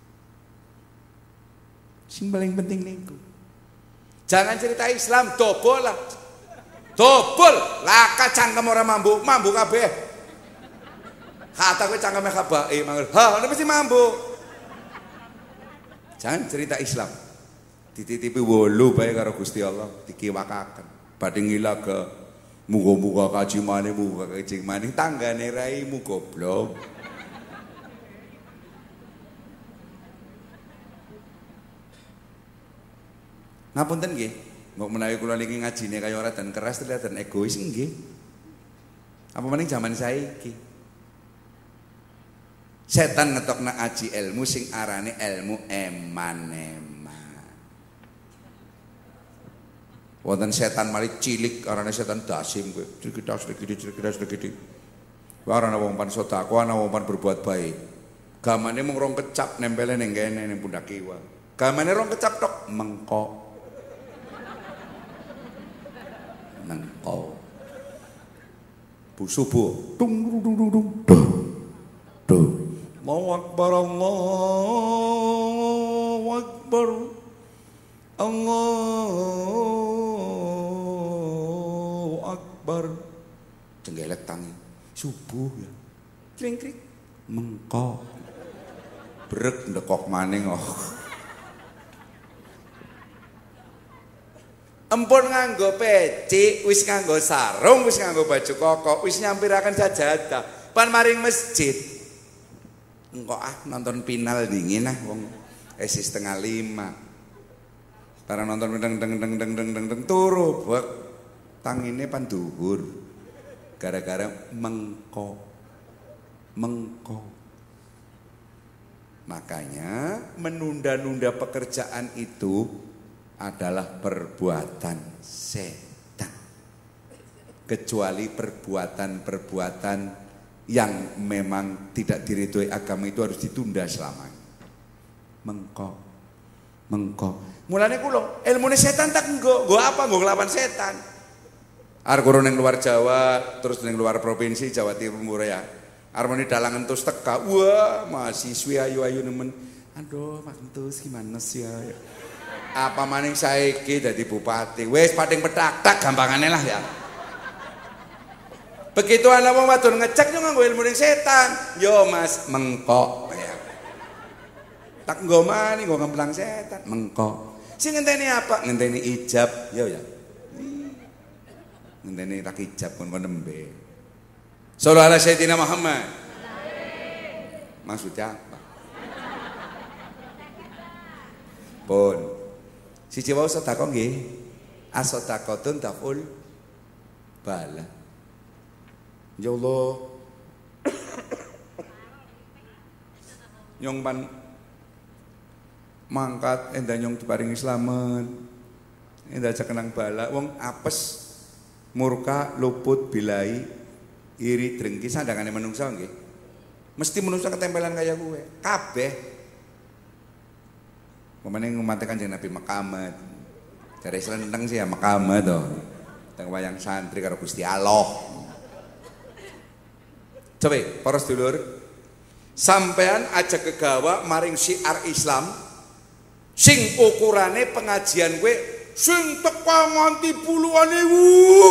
Sing paling penting niku. Jangan cerita Islam dobol lah. Dobol laka cangkem ora mambu kabeh. Kata kowe cangkeme kabeh mangkel. Ha, ana mesti mambu. Jangan cerita Islam. Dititipi wolu bae karo Gusti Allah dikiwakaken. Badhe ngilaga muga-muga kaji maneh muga kaji maneh tanggane raimu goblok. Ngapunten nggih. Mbok menawi kula niki ngajine kaya ora dan keras dan egois nggih. Apa maning zaman saiki. Setan ngetokna aji ilmu sing arane ilmu eman-eman. Wonten setan mari cilik arane setan dasim kowe. Sedikit. Warana wong pan sedekah ana wong pan berbuat baik. Gamane mung rong kecap nempele ning kene ning pundak kiwa. Gamane rong kecap tok mengko. Mengko. Bu subuh. Dung dung dung dung. Duh. Allahu Akbar, Allahu Akbar, Allahu Akbar. Jenggelek tangi, subuh ya. Kring-kring, mengkok. Brek ndekok maning oh. Empun nganggo peci, wis nganggo sarung, wis nganggo baju koko, wis nyampiraken sajadah. Pan maring masjid. Engko nonton final dingin wong esi 4:30. Para nonton deng turu bek tangine pan dhuwur. Gara-gara mengko. Makanya menunda-nunda pekerjaan itu adalah perbuatan setan. Kecuali perbuatan yang memang tidak diridhoi agama itu harus ditunda selamanya. Mengko. Mulane kula ilmune setan tak nggo apa nggo nglawan setan. Arep karo ning luar Jawa, terus ning luar provinsi Jawa Timur ya. Arep muni dalang entus teka. Wah, mahasiswi ayu-ayu nemen. Aduh, Mas Entus gimana sih ya? Apa maning saiki dadi bupati. Wis pating petak-tak gampangane lah ya. Begitu ana wong wadon ngecek yo nganggo ilmu ning setan. Yo Mas mengkok ya. Tak nggo mani nggo ngemplang setan, mengkok. Sing ngenteni apa? Ngenteni ijab, yo ya. Ngenteni tak ijab kon nembe. Shallallahu alaihi sayyidina Muhammad. Maksudnya apa? Pun. Siji wae sedekah nggih. As-sadaqatun taful bala. Ya Allah nyong pan mangkat endah nyong diparingi slamet endah aja kenang bala wong apes murka luput bilai iri drengki sandangane menungsa nggih mesti menungsa ketempelan kaya kowe kabeh pemene ngumate Kanjeng Nabi Makamat jare slenteng sih ya Makamat to teng wayang santri karo Gusti Allah. Coba para sedulur sampean aja kegawa maring syiar Islam sing ukurane pengajian kowe sing teko nganti puluhan ewu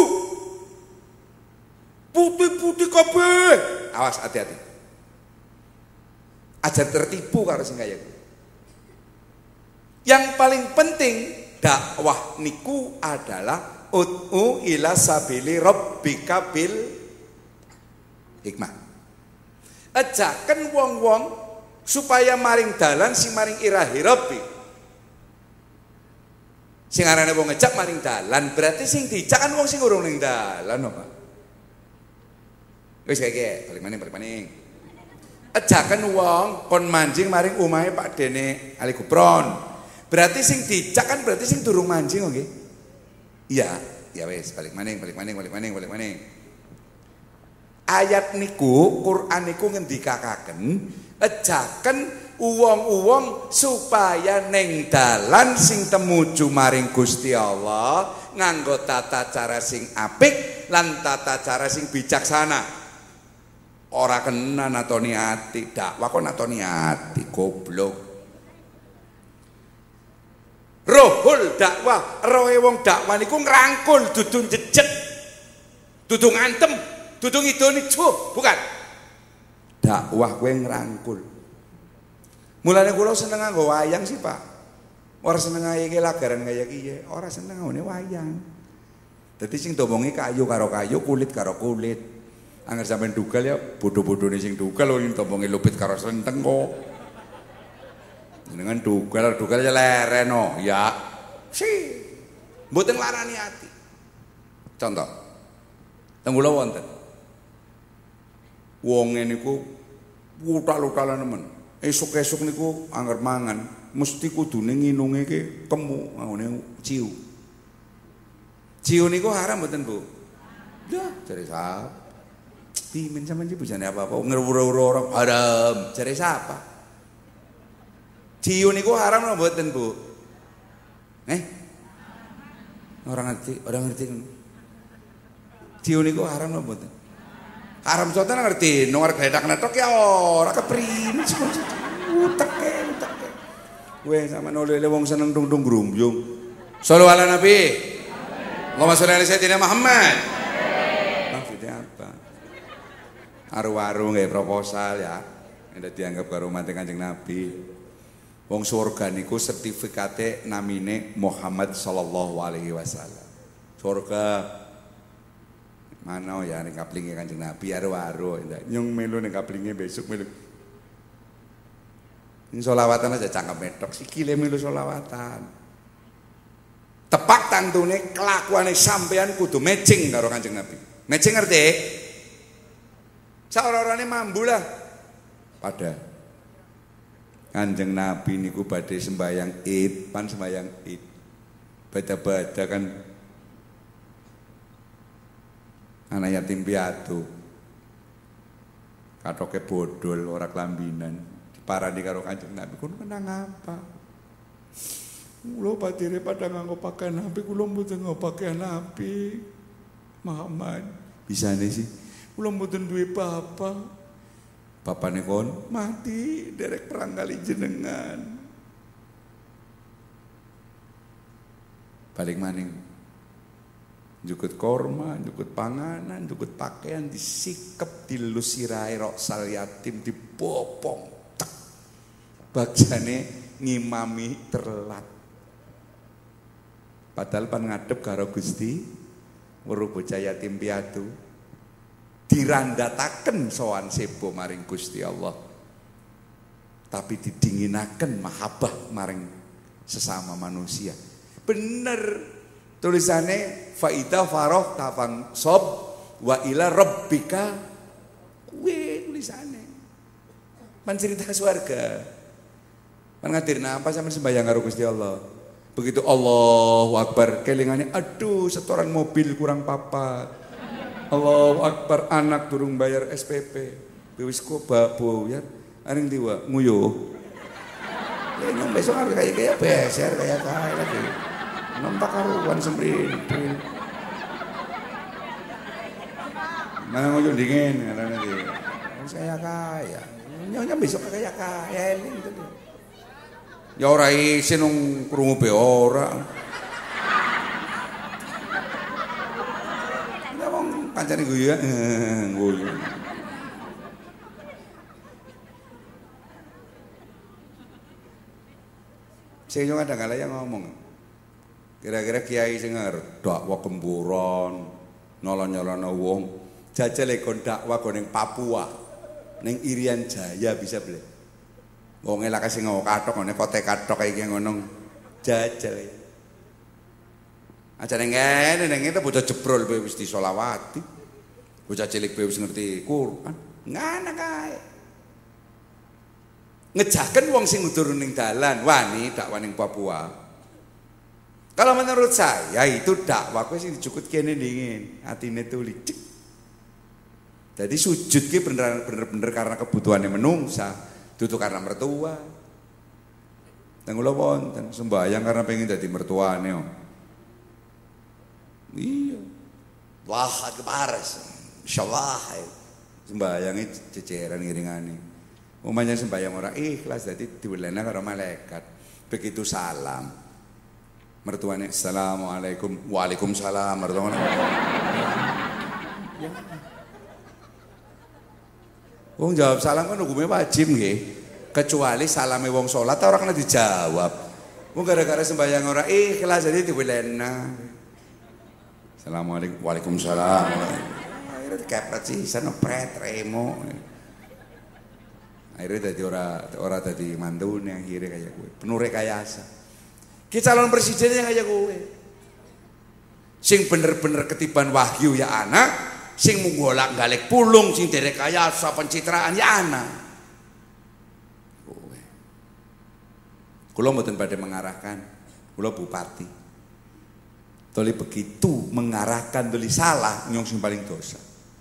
putih-putih kabeh awas hati-hati aja tertipu karo sing kaya kowe. Yang paling penting dakwah niku adalah ud'u ila sabili rabbika bil hikmah. Ajaken wong-wong supaya maring dalan sing maring irahi Rabbi. Sing arane wong ngejak maring dalan berarti sing dijak kan wong sing urung ning dalan apa? Wis kaya balik maning. Ajaken wong kon manjing maring omahe Pak Dene Ali Gupron. Berarti sing dijak kan berarti sing durung manjing nggih. Iya, ya wis balik maning. Ayat niku Quran niku ngendikakaken ejaken uwong-uwong supaya neng dalan sing temuju maring Gusti Allah nganggo tata cara sing apik lan tata cara sing bijaksana. Ora kena natoni ati, dakwah kok natoni ati, goblok. Rohul dakwah, rohe wong dakwah niku ngrangkul dudu jejeg. Dudu ngantem. Dudung idoni bukan. Dakwah kowe ngrangkul. Mulane kula seneng nganggo wayang sih, Pak. Ora seneng iki lagaran kaya kiye, ora seneng ngene wayang. Dadi sing domongi kayu karo kayu, kulit karo kulit. Angger sampean dugal ya bodoh-bodone sing dugal sing domongi lupit karo slenteng kok. Jenengan dugal ya leren no, ya. Mboten nglarani ati. Contoh. Teng kula wonten. Wong niku utal-utalan nemen. Esuk-esuk niku angger mangan, mesti kudune nginunge ki kemu ngene ciu. Ciu niku haram mboten, Bu? Ya, jare sapa? Pimen sampean iki bujane apa-apa ngerwura-wura orang haram. Jare sapa? Ciu niku haram lho mboten, Bu? Orang ngerti. Ciu niku haram lho mboten? Haram soten ngerti, nang gledak-gledak ya ora keprimen sih. Uteke. Weh sampean oleh wong seneng tung-tung grumbyung. Shallallahu ala Nabi. Allahumma sholli ala sayyidina Muhammad. Maksudnya apa? Aru-aru nggih proposal ya. Nek dianggap karo umat Kanjeng Nabi. Wong surga niku sertifikate namine Muhammad sallallahu alaihi wasallam. Surga mana ya ning kaplinge Kanjeng Nabi aru-aru nyung melu ning kaplinge besok melu. Ini sholawatan aja cangkem metok sikile melu sholawatan. Tepak tantune kelakuane sampean kudu matching karo Kanjeng Nabi. Matching ngerti? Saora-orane mambu lah. Pada Kanjeng Nabi niku badhe sembayang Id, pan sembayang Id. Baca-baca kan anak yatim piatu katoke bodol ora kelambinan diparani karo Kanjeng Nabi kulo kenang apa kulo patire pada nganggo pakaian Nabi kulo mboten nganggo pakaian Nabi Muhammad bisane sih kulo mboten duwe bapane kon mati derek perang kali jenengan balik maning jukut korma, jukut panganan, jukut pakaian disikep dilus sirahe roksal yatim dibopong. Bagjane ngimami terlat. Padahal pan ngadep karo Gusti weruh bocah yatim piatu dirandataken sowan sebo maring Gusti Allah. Tapi didinginaken mahabbah maring sesama manusia. Bener tulisannya faida faroh tafang sob wa ila rabbika kuwe tulisannya pan cerita swarga pan ngadirna apa sampe sembahyang karo Gusti Allah begitu Allahu Akbar kelingannya aduh setoran mobil kurang papat Allahu Akbar anak durung bayar SPP wis kok babo ya aring diwa nguyuh ya besok harus kayak beser kayak lagi nampak karuan semprinting. Mana ngujung dingin karena nanti. Saya kaya. Nyonya besok kaya ini gitu. Ya ora isin nang krungu be ora. Ya wong kancane guyu ya. Guyu. Sing yo kadang-kadang yang ngomong. Kira-kira kiai sing dakwah gemburon, nolong-nolong wong, jajal kon dakwah ning Papua, ning Irian Jaya bisa beli. Wong elak sing kathok ngene kote kathok iki ngono jajal. Ajane ngene ning itu bocah jebrol wis disolawati. Bocah cilik wis ngerti Quran. Ngana kae. Ngejaken wong sing durung ning dalan, wani dakwah ning Papua. Kalau menurut saya itu dakwah kuwi sing dijukut kene dingin, atine tuli. Jadi sujud ki bener-bener karena kebutuhannya menungsa, dudu karena mertua. Nang kula wonten sembahyang karena pengen dadi mertuane. Iya. Wah, kebares. Insyaallah. Sembayange ceceran ngiringane. Umumnya sembayang ora ikhlas dadi diwelena karo malaikat. Begitu salam mertuane assalamualaikum waalaikumsalam mertuane wong jawab salam kan hukumnya wajib nggih kecuali salame wong salat ora kena dijawab wong gara-gara sembahyang ora ikhlas jadi diwelena assalamualaikum waalaikumsalam akhirnya dikepret sih sana pret remo akhirnya dadi ora dadi mantune akhirnya kayak gue penuh rekayasa. Ki calon presidennya kaya kowe. Sing bener-bener ketiban wahyu ya anak, sing munggolak galek pulung, sing derek kayasa pencitraan ya anak. Kowe. Kula mboten badhe mengarahkan, kula bupati. Toli begitu mengarahkan toli salah nyong sing paling dosa.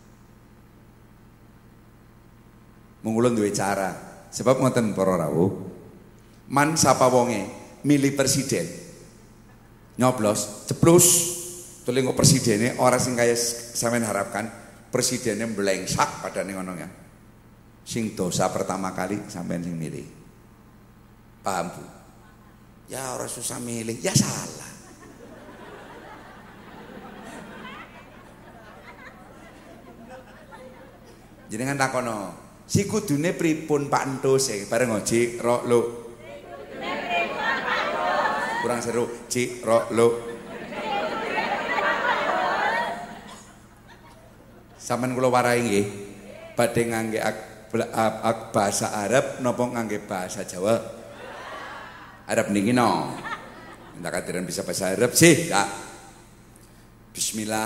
Mung kula duwe cara, sebab ngoten para rawuh. Man sapa wonge milih presiden nyoblos ceplus tuli kok presidennya orang sing kaya sampean harapkan presidennya blengsak padane ngono ya sing dosa pertama kali sampean sing milih paham Bu ya orang susah milih ya salah jenengan takono si kudune pripun Pak Entus bareng ngoji rok lo kurang seru, cik, ro, lo. Sampeyan kula warai nggih, badhe ngangge bahasa Arab napa ngangge bahasa Jawa? Arab niki no. Minta kadiran bisa bahasa Arab sih, Kak. Bismillah.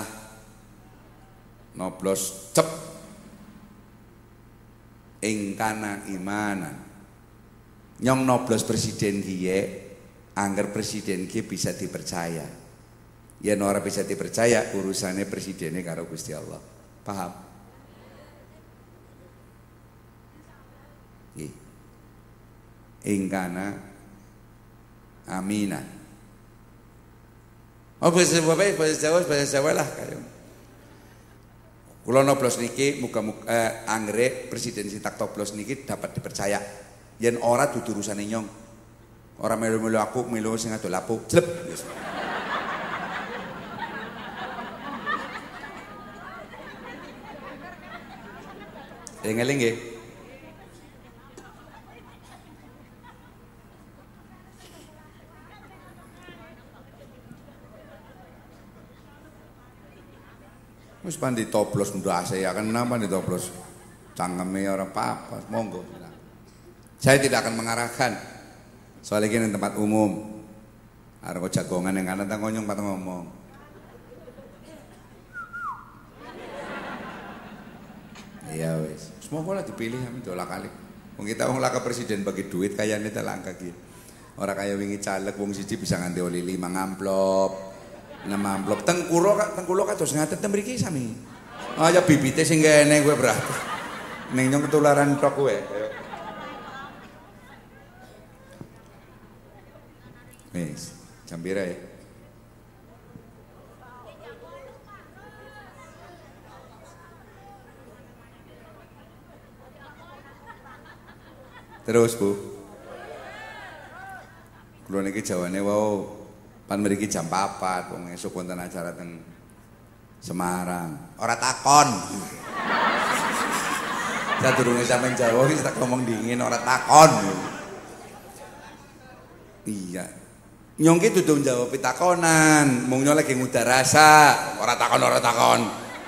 Noblos cep. Ing kana imanan. Nyong noblos presiden kiye angger presiden ki bisa dipercaya. Yen ora bisa dipercaya urusannya presidennya karo Gusti Allah. Paham? Nggih. Ingkana aminan. Oh bahasa Jawa lah kaya. Kula noblos niki muga-muga anggere presiden sing tak toblos niki dapat dipercaya. Yen ora dudu urusane nyong. Orang melu-melu aku, melu sing adol lapu, jleb. Eling-eling nggih. Wis pan ditoblos ndase ya kan napa ditoblos. Cangkeme ora apa-apa, monggo. Saya tidak akan mengarahkan. Soalnya ini tempat umum. Arep jagongan yang kanan tak ngonyong patang ngomong. Iya wis. Semua bola dipilih kami dola kali. Wong kita wong laka presiden bagi duit kayane ta langka ki. Ora kaya wingi caleg wong siji bisa nganti oli 5 amplop. 6 amplop. Tengkulo kados ngaten ten mriki sami. Ah ya bibite sing kene kowe berarti. Ning nyong ketularan tok kowe. Wis, jam pira ya? Terus Bu. Kula niki jawane wau pan mriki jam 4 wong esuk wonten acara teng Semarang. Ora takon. Sadurunge sampeyan Jawa wis tak ngomong dingin ora takon. Iya. Nyong ki dudu njawab pitakonan, mung nyong lagi ngudar rasa, ora takon.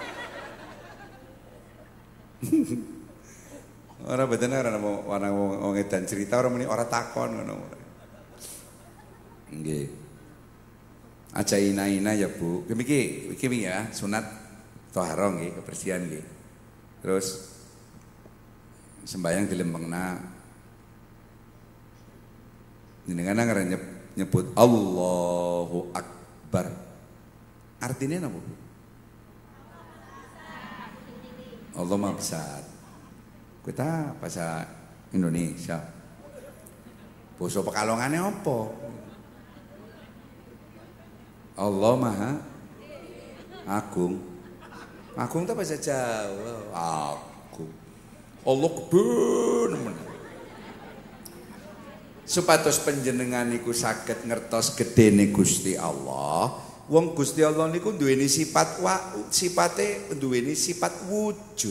Ora beten ora ana wong edan cerita ora muni ora takon ngono. Nggih. Aja ina-ina ya Bu. Iki ya sunat thaharah nggih, kebersihan nggih. Terus sembayang dilempengna. Jenengan ngarep nyebut Allahu Akbar. Artinya apa? Allah Maha Besar. Kita bahasa Indonesia. Basa Pekalongane apa? Allah Maha Agung. Agung itu bahasa Jawa. Agung. Allah gede. Supados panjenengan niku saged ngertos gedene Gusti Allah. Wong Gusti Allah niku duweni sifate duweni sifat wujud.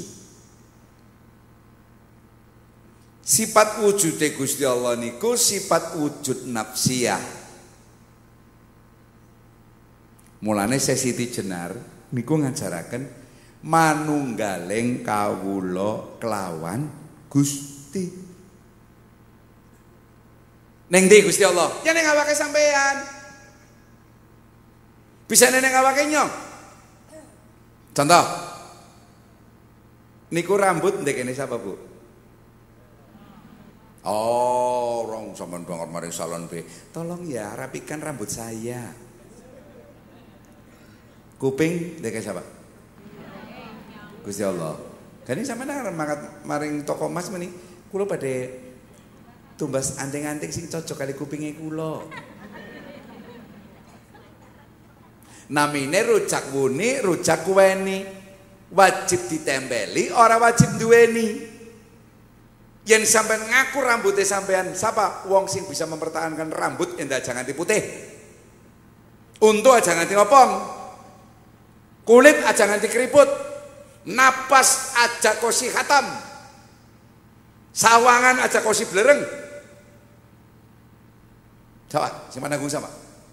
Sifat wujude Gusti Allah niku sifat wujud nafsiyah. Mulane Siti Jenar niku ngajaraken manunggaling kawula kelawan Gusti. Neng ndi Gusti Allah? Ya ning awake sampean. Bisa neneng awake nyong. Contoh. Niku rambut ndek kene sapa, Bu? Oh, orang sampean banget maring salon B. Tolong ya rapikan rambut saya. Kuping ndek siapa? Gusti Allah. Gani sampean mangkat maring toko emas meni, kula badhe tumbas anting-anting sing cocok kali kupinge kula. Namine rujak wuni, rujak kuweni. Wajib ditempeli, ora wajib duweni. Yen sampean ngaku rambutnya sampean, siapa wong sing bisa mempertahankan rambut endah aja nganti putih. Untu aja nganti ngopong. Kulit aja nganti keriput. Napas aja kosi khatam. Sawangan aja kosi blereng. Coba, sing nanggung sama.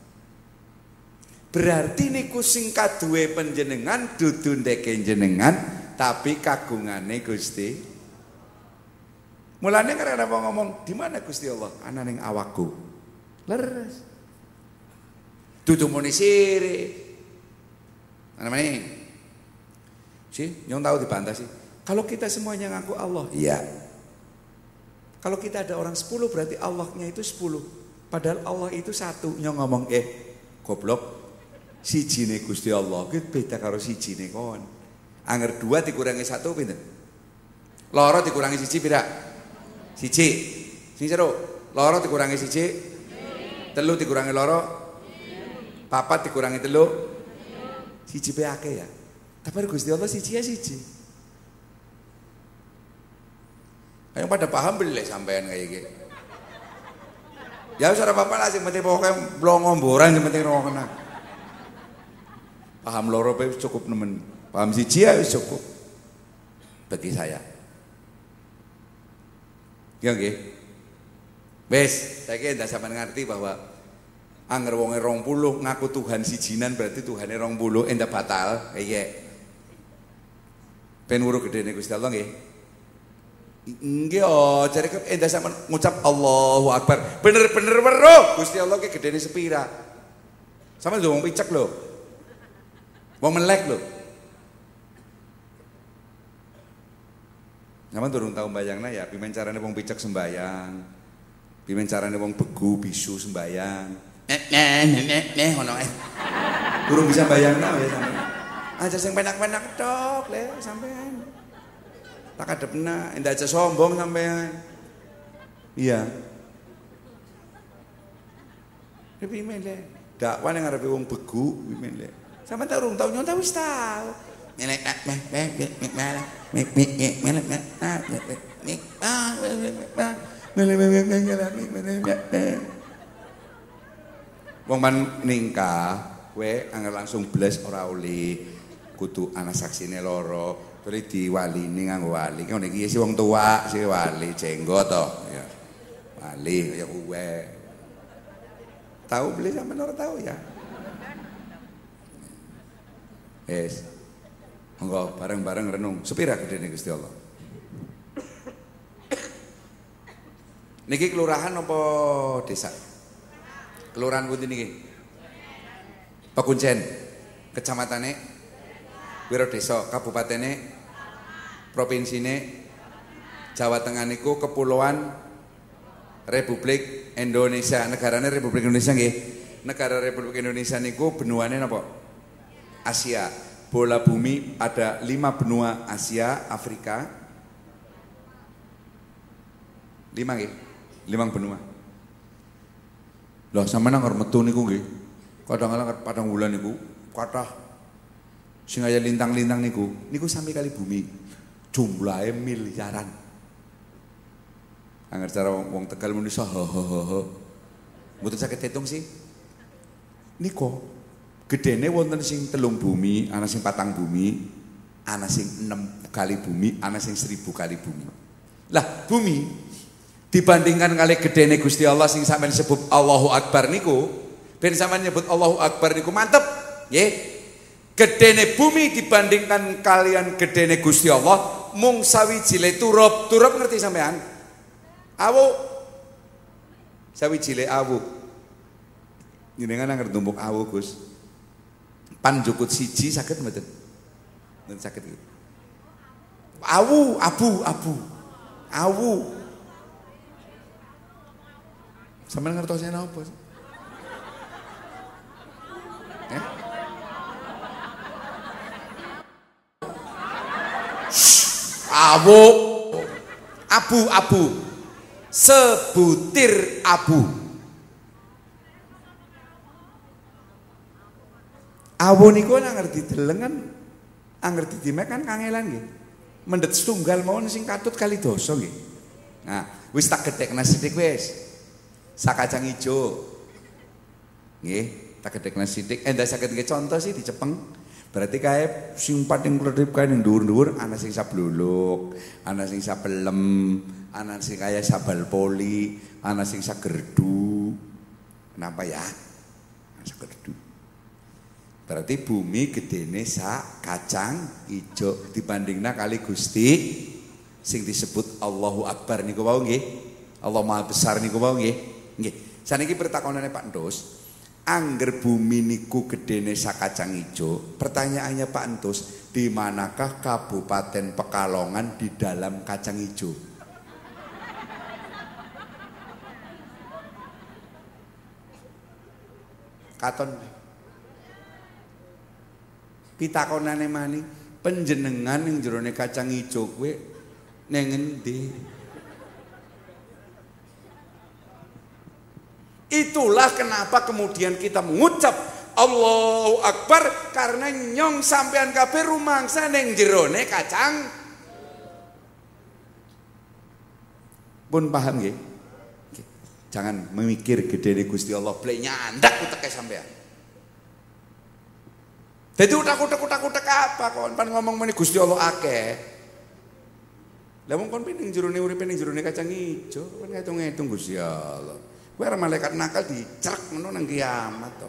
Berarti niku sing kaduwe panjenengan dudu ndeke jenengan, tapi kagungane Gusti. Mulane karena apa ngomong, di mana Gusti Allah? Ana ning awakku. Leres. Dudu muni sire. Ana meneh. Sih, nyong tahu dibantah sih. Kalau kita semuanya ngaku Allah, iya. Kalau kita ada orang 10 berarti Allahnya itu 10. Padahal Allah itu 1. Nyong ngomong, goblok. Sijine Gusti Allah ki beda karo sijine kon. Angger 2 dikurangi 1 pinten? Loro dikurangi 1 pira? 1. Sing jero, loro dikurangi 1. 3 dikurangi loro. 4 dikurangi 3. 1 pe akeh ya. Tapi Gusti Allah 1 ya 1. Ayo pada paham beli sampean kayak gitu. Ya wis ora apa-apa lah sing penting pokoke blongo mboran sing penting rokok. Paham loro cukup nemen. Paham siji ya cukup. Bagi saya. Ya nggih. Wis, saiki ndak sampean ngerti bahwa angger wonge 20 ngaku Tuhan sijinan berarti Tuhane 20 endah batal. Iya. Ben weruh gedene Gusti Allah nggih. Nggih, jare endah sampean ngucap Allahu Akbar. Bener-bener weruh Gusti Allah ki gedene sepira. Sampeyan lho wong picek lho. Wong melek lho. Sampeyan durung tau mbayangna ya, pimen carane wong picek sembayang. Pimen carane wong begu bisu sembayang. Ngono ae. Durung bisa mbayangna ya sampeyan. Aja sing penak-penak tok le sampean. Tak kadepna, endah aja sombong sampean. Iya. Pimen le. Dakwah ning ngarepe wong begu pimen le. Sampeyan tak urung tau nyon ta wis tau. Wong man ningkah kowe angel langsung bles ora oleh kudu ana saksine loro. Terus diwalini nganggo wali. Ngene iki si wong tua, si wali jenggot to ya. Wali kaya kowe. Tahu beli sampean ora tahu ya? Yes. Monggo bareng-bareng renung. Sepira gedene Gusti Allah. Niki kelurahan apa desa? Kelurahan pundi niki? Pekuncen. Kecamatane Wiro Desa, kabupatene, provinsine Jawa Tengah niku kepulauan Republik Indonesia. Negarane Republik Indonesia nggih. Negara Republik Indonesia niku benuane napa? Asia. Bola bumi ada 5 benua Asia, Afrika. 5 nggih. 5 benua. Lah sampeyan nang metu niku nggih. Kadang-kadang padang wulan niku kathah sing aya lintang-lintang niku sami kali bumi. Jumlahe miliaran. Angger cara wong Tegal muni saha. Mboten saged hitung sih. Niku gedene wonten sing 3 bumi, ana sing 4 bumi, ana sing 6 kali bumi, ana sing 1000 kali bumi. Lah, bumi dibandingkan kali gedene Gusti Allah sing sampeyan sebut Allahu Akbar niku, ben sampeyan nyebut Allahu Akbar niku mantep, nggih. Gedene bumi dibandingkan kalian gedene Gusti Allah mung sawijile turub. Turub ngerti sampean? Awu. Sawijile awu. Jenengan nang tumbuk awu, Gus. Pan jukut siji saged mboten? Mboten saged iki. Awu, awu. Sampeyan ngertosnya napa? Awu, abu, sebutir abu. Awu niku nek ngerti deleng kan, ngerti dimek kan kangelan nggih. Mendet setunggal mawon sing katut kali dosa nggih. Nah, wis tak gedhekna sithik wis. Sakacang ijo. Nggih, tak gedhekna sithik. Endah saged nggih contoh sih dicepeng. Berarti kae sing pating kredip kae ning dhuwur-dhuwur ana sing sabluluk, ana sing sapelem, ana sing kaya sabal poli, ana sing sagerdu. Kenapa ya? Sagerdu. Berarti bumi gedene sak kacang ijo dibandingna kali Gusti sing disebut Allahu Akbar niku wau nggih. Allah Maha Besar niku wau nggih. Nggih. Saniki pertakonane Pak Entus. Angger bumi niku gedene sak kacang ijo. Pertanyaannya Pak Entus, di manakah Kabupaten Pekalongan di dalam kacang ijo? Katon pitakonane mani panjenengan ning jerone kacang ijo kowe ning endi? Itulah kenapa kemudian kita mengucap Allahu Akbar, karena nyong sampean kabeh rumangsa ning jerone kacang. Pun paham nggih? Jangan memikir gedene Gusti Allah blek nyandak uteke sampean. Dadi utak-utak apa kon pan ngomong meneh Gusti Allah akeh. Lah wong kon ning jerone uripe ning jerone kacang ijo, kon ngitung-ngitung Gusti Allah. Kowe arep malaikat nakal dicerek ngono nang kiamat to.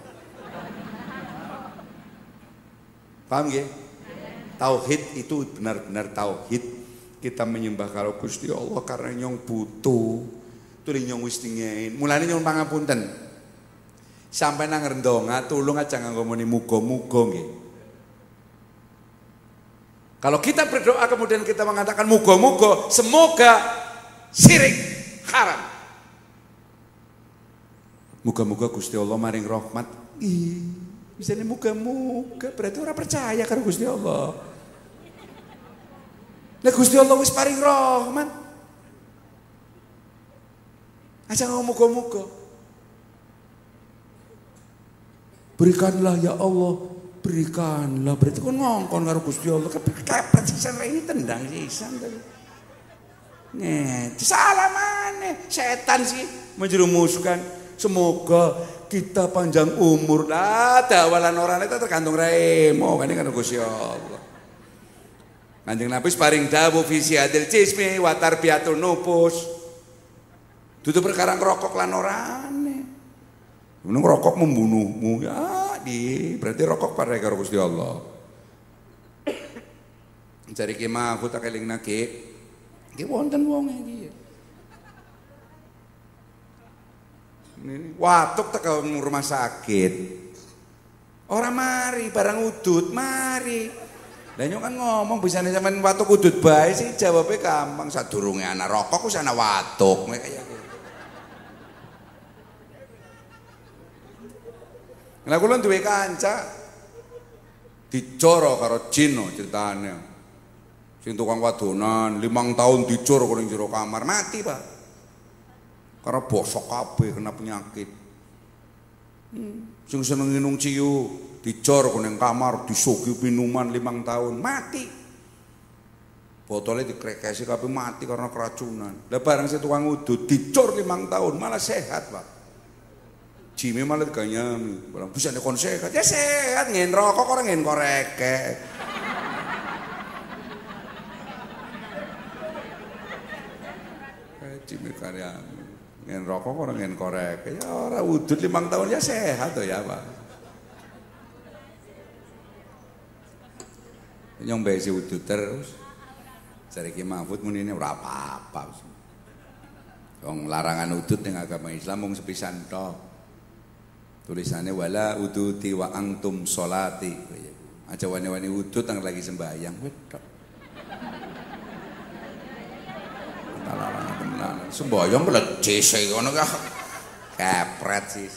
Paham nggih? Tauhid itu benar-benar tauhid. Kita menyembah kalau Gusti Allah karena nyong butuh. Tuli nyong wis dingin. Mulane nyong pangapunten. Sampai nang rendonga tulung aja nganggo muni muga-muga nggih. Kalau kita berdoa kemudian kita mengatakan muga-muga, semoga syirik haram. Muga-muga Gusti Allah maring rahmat. Ih, bisane muga-muga berarti ora percaya karo Gusti Allah. Lah Gusti Allah wis paring rahmat. Aja ngomong muga-muga. Berikanlah ya Allah, berikanlah. Berarti kon ngongkon karo Gusti Allah. Kepepet sisan ini tendang sisan tadi. Nih, salah maneh. Setan sih menjerumuskan. Semoga kita panjang umur. Lah dawalan orang itu tergantung remo kan karo Gusti Allah. Kanjeng Nabi paring dawuh visi adil jismi wa tarbiyatul nufus. Dudu perkara ngrokok lan orane. Menung rokok membunuhmu ya, berarti rokok parek karo Gusti Allah. Cari kemah aku tak eling nake. Iki wonten wong iki. Watuk teko rumah sakit. Orang mari barang udut mari. Lah nyok kan ngomong bisane sampean watuk udut bae sih jawabnya gampang sadurunge ana rokok wis ana watuk kaya gitu. Lah kula duwe kanca dicoro karo jin ceritane. Sing tukang wadonan 5 tahun dicor karo ning jero kamar mati, Pak. Karena bosok kabeh kena penyakit. Sing seneng minum ciu dicor ning kamar disugi minuman 5 tahun mati. Botolnya dikrekesi kabeh mati karena keracunan. Lah barang si tukang udut dicor 5 tahun malah sehat, Pak. Jime malah diganyami. Barang bisa nekon sehat. Ya sehat ngen rokok orang ngen koreke. Jime karyami. Ngen rokok orang ngen korek, ya orang udut 5 tahun ya sehat tuh ya Pak. Nyong besi udut terus, cari Ki Mahfud muni ini ora apa-apa. Wong larangan udut ning agama Islam mung sepisan tok. Tulisannya wala uduti wa antum sholati. Aja wani-wani udut nang lagi sembahyang. Wedok. Talalang tenan. Sembahyang melejes ngono ka. Kepret sih.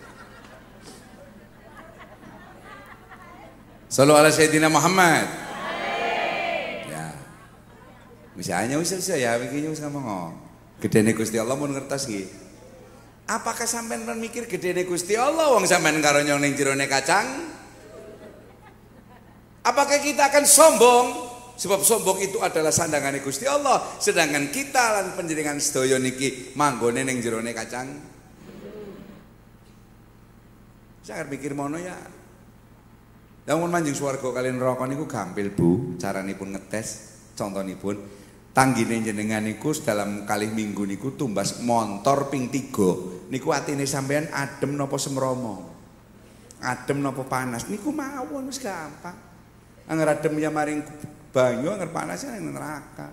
Sallu ala Sayyidina Muhammad. Ya. Misalnya usah ya iki wis ngomong. Gedene Gusti Allah mun ngertos nggih. Apakah sampean mikir gedene Gusti Allah wong sampean karo nyong ning jerone kacang? Apakah kita akan sombong? Sebab sombong itu adalah sandangane Gusti Allah, sedangkan kita lan panjenengan sedaya niki manggone ning jerone kacang. Jangan mikir mono ya. Lamun manjing swarga kalian neraka niku gampil Bu, caranipun ngetes, contonipun tanggine jenengan niku dalam kalih minggu niku tumbas montor ping 3. Niku atine sampean adem napa semromo? Adem napa panas? Niku mawon wis gampang. Anger adem ya maring banyu, anger panas ya ning neraka.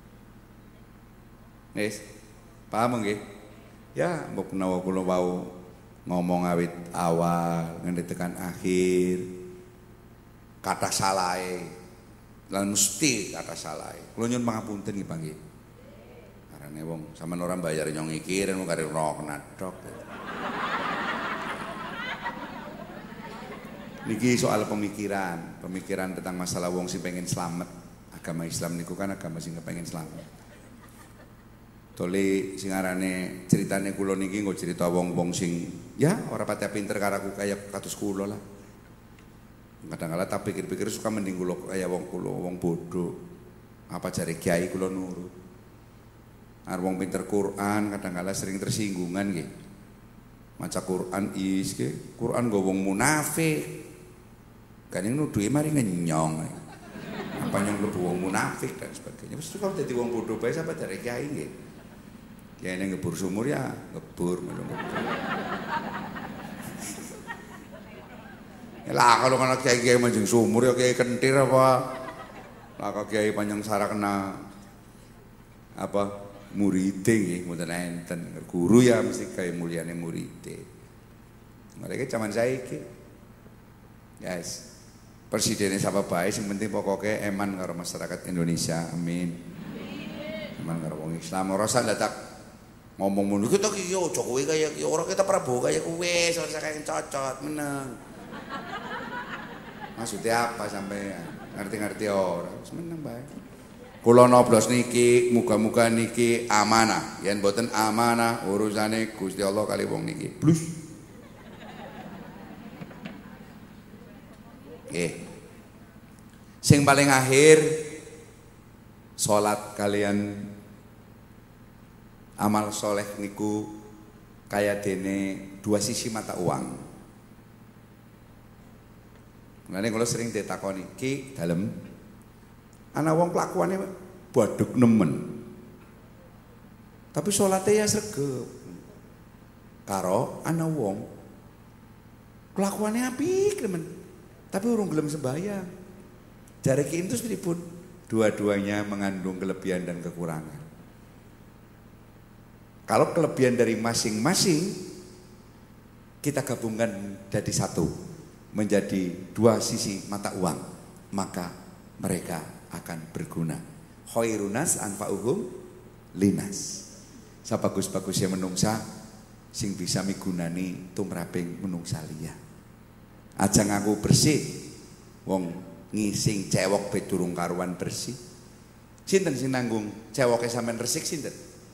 Wis. Paham nggih? Ya, mbok menawa kula wau ngomong awit awal nganti tekan akhir. Kata salahe lan mesti kata salah. Kula nyuwun pangapunten nggih Pak nggih. Karane wong sampean ora bayar nyong iki ren wong kare ora kena dok. Niki soal pemikiran tentang masalah wong sing pengen selamat. Agama Islam niku kan agama sing pengen selamat. Tole sing arane ceritane kula niki nggo cerita wong-wong sing ya ora pati pinter karo aku kaya kados kula lah. Kadang-kadang tak pikir-pikir suka mending kula kaya wong bodoh. Apa jare kiai kula nurut. Arep wong pinter Quran kadang-kadang sering tersinggungan nggih. Maca Quran nggih, Quran nggo wong munafik. Kan nuduhe mari ngenyong. Apa yang mlebu wong munafik dan sebagainya. Wis kok dadi wong bodoh bae sampe jare kiai nggih. Kiai ning ngebur sumur ya ngebur melu ngebur. Lah kalau kana kiai manjing sumur ya kiai kentir apa? Lah kok kiai panjang sarah kena apa muride nggih mboten enten. Guru ya mesti kaya mulyane muride. Mereka zaman saiki. Guys. Presidennya siapa bae sing penting pokoknya eman karo masyarakat Indonesia. Amin. Eman karo wong Islam ora usah dadak ngomong mulu kita ki yo Jokowi kaya ora kita Prabowo kaya kowe ora usah kaya cocot meneng. Maksudnya apa sampai ngerti-ngerti ora wis meneng bae. Kula noblos niki muga-muga niki amanah. Yen mboten amanah urusane Gusti Allah kali wong niki. Blus. Sing paling akhir salat kalian amal soleh niku kaya dene dua sisi mata uang. Mulane kula sering ditakoni, "Ki, dalem ana wong kelakuane badhek nemen. Tapi salate ya sregep." Karo ana wong kelakuane apik nemen, tapi urung gelem sembahyang. Jare ki entus pripun? Dua-duanya mengandung kelebihan dan kekurangan. Kalau kelebihan dari masing-masing kita gabungkan jadi satu, menjadi dua sisi mata uang, maka mereka akan berguna. Khairunas anfa'uhum linas. Sabagus-bagusnya menungsa sing bisa migunani tumraping menungsa liya. Aja ngaku bersih wong ngising cewek be durung karuan bersih. Sinten sing nanggung cewoke sampean resik sinten?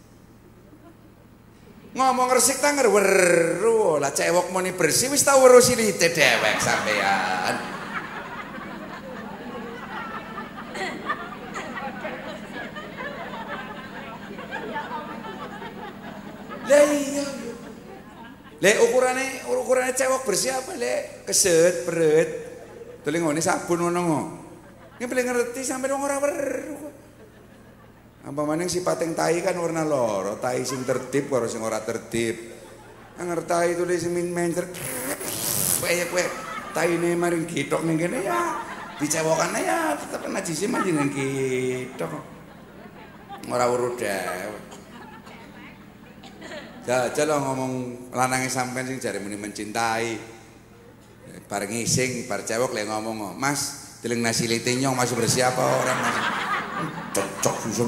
Ngomong resik ta ngerweru lah cewek muni bersih wis tau weruh silite dewek sampean. Lah iya. Le ukurane cewek bersih apa le? Keset, beret. Tuli ngene sabun ngono kok. Ki pilih ngerti sampeyan wong ora weruh. Apa maning sipating tai kan warna loro, tai sing tertib karo sing ora tertib. Anger tai tulis sing mencer. Kaya kowe taine maring gitok ning kene ya dicewokane ya tetep najise manjenengan gitok. Ora weruh dewek. Jajal lo ngomong lanange sampean sing jare muni mencintai. Bareng ngising, bar cewek le ngomong, "Mas, deleng nasi lite nyong masih bersih apa orang Mas?" Cocok susul.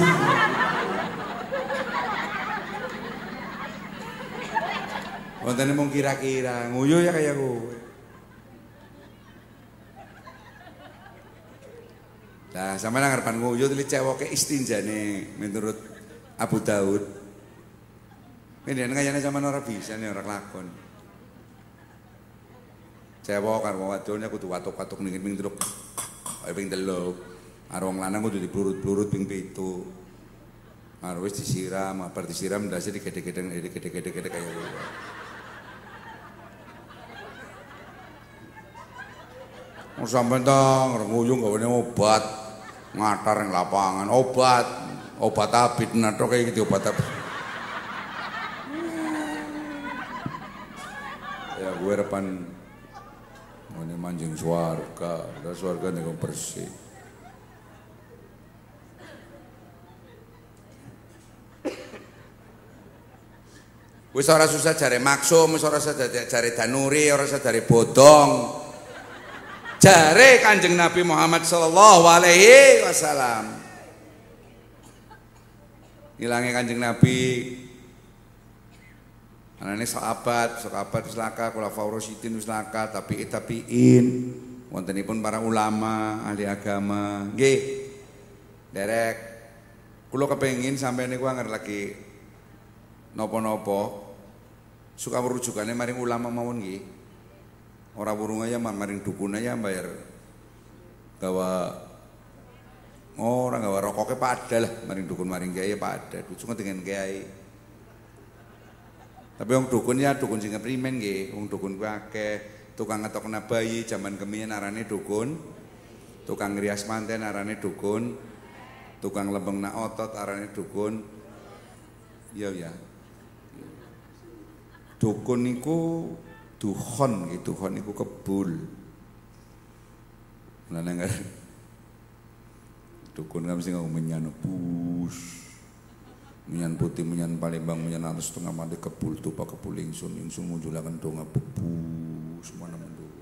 Wonten mung kira-kira, nguyu ya kayak kowe. Lah sampeyan ngarepan nguyu tili cewoke istinjane menurut Abu Daud. Ini kayaknya zaman orang bisa nih orang lakon. Cewek karo wadone kudu watuk-watuk ning ping 3. Ping 3. Karo wong lanang kudu diplurut-plurut ping 7. Karo wis disiram, bar disiram ndase digede-gedeng kaya ngono. Wong sampean ta nguyung gawane obat ngatar ning lapangan, obat abit nato kaya gitu obat abit. Ya gue repan ini manjing swarga, ada swarga nih bersih. Wis ora susah jare maksum, wis ora susah jare danuri, ora susah jare bodong. Jare Kanjeng Nabi Muhammad sallallahu alaihi wasallam. Ilange Kanjeng Nabi anane sahabat wis laka, khulafaur rasyidin wis laka, tabi'in, wontenipun para ulama, ahli agama. Nggih. Derek kula kepengin sampeyan niku anger lagi napa-napa suka merujukane maring ulama mawon nggih. Ora wurung aja maring dukun aja bayar gawa orang gawa rokoke padha lah maring dukun maring kiai padha. Dukun dengan kiai. Tapi wong dukun ya dukun sing keprimen nggih, wong dukun kuwi akeh, tukang ngetokna bayi jaman kemiyen arane dukun, tukang ngrias manten arane dukun, tukang lembengna otot arane dukun. Iya ya. Dukun niku dukhon gitu, dukhon niku kebul. Lah nang dukun kan mesti ngomong menyan bus. Menyan putih, menyan Palembang, menyan atas setengah mati kebul tuh pak kebul ingsun munjulakan donga bebu semua nama dulu.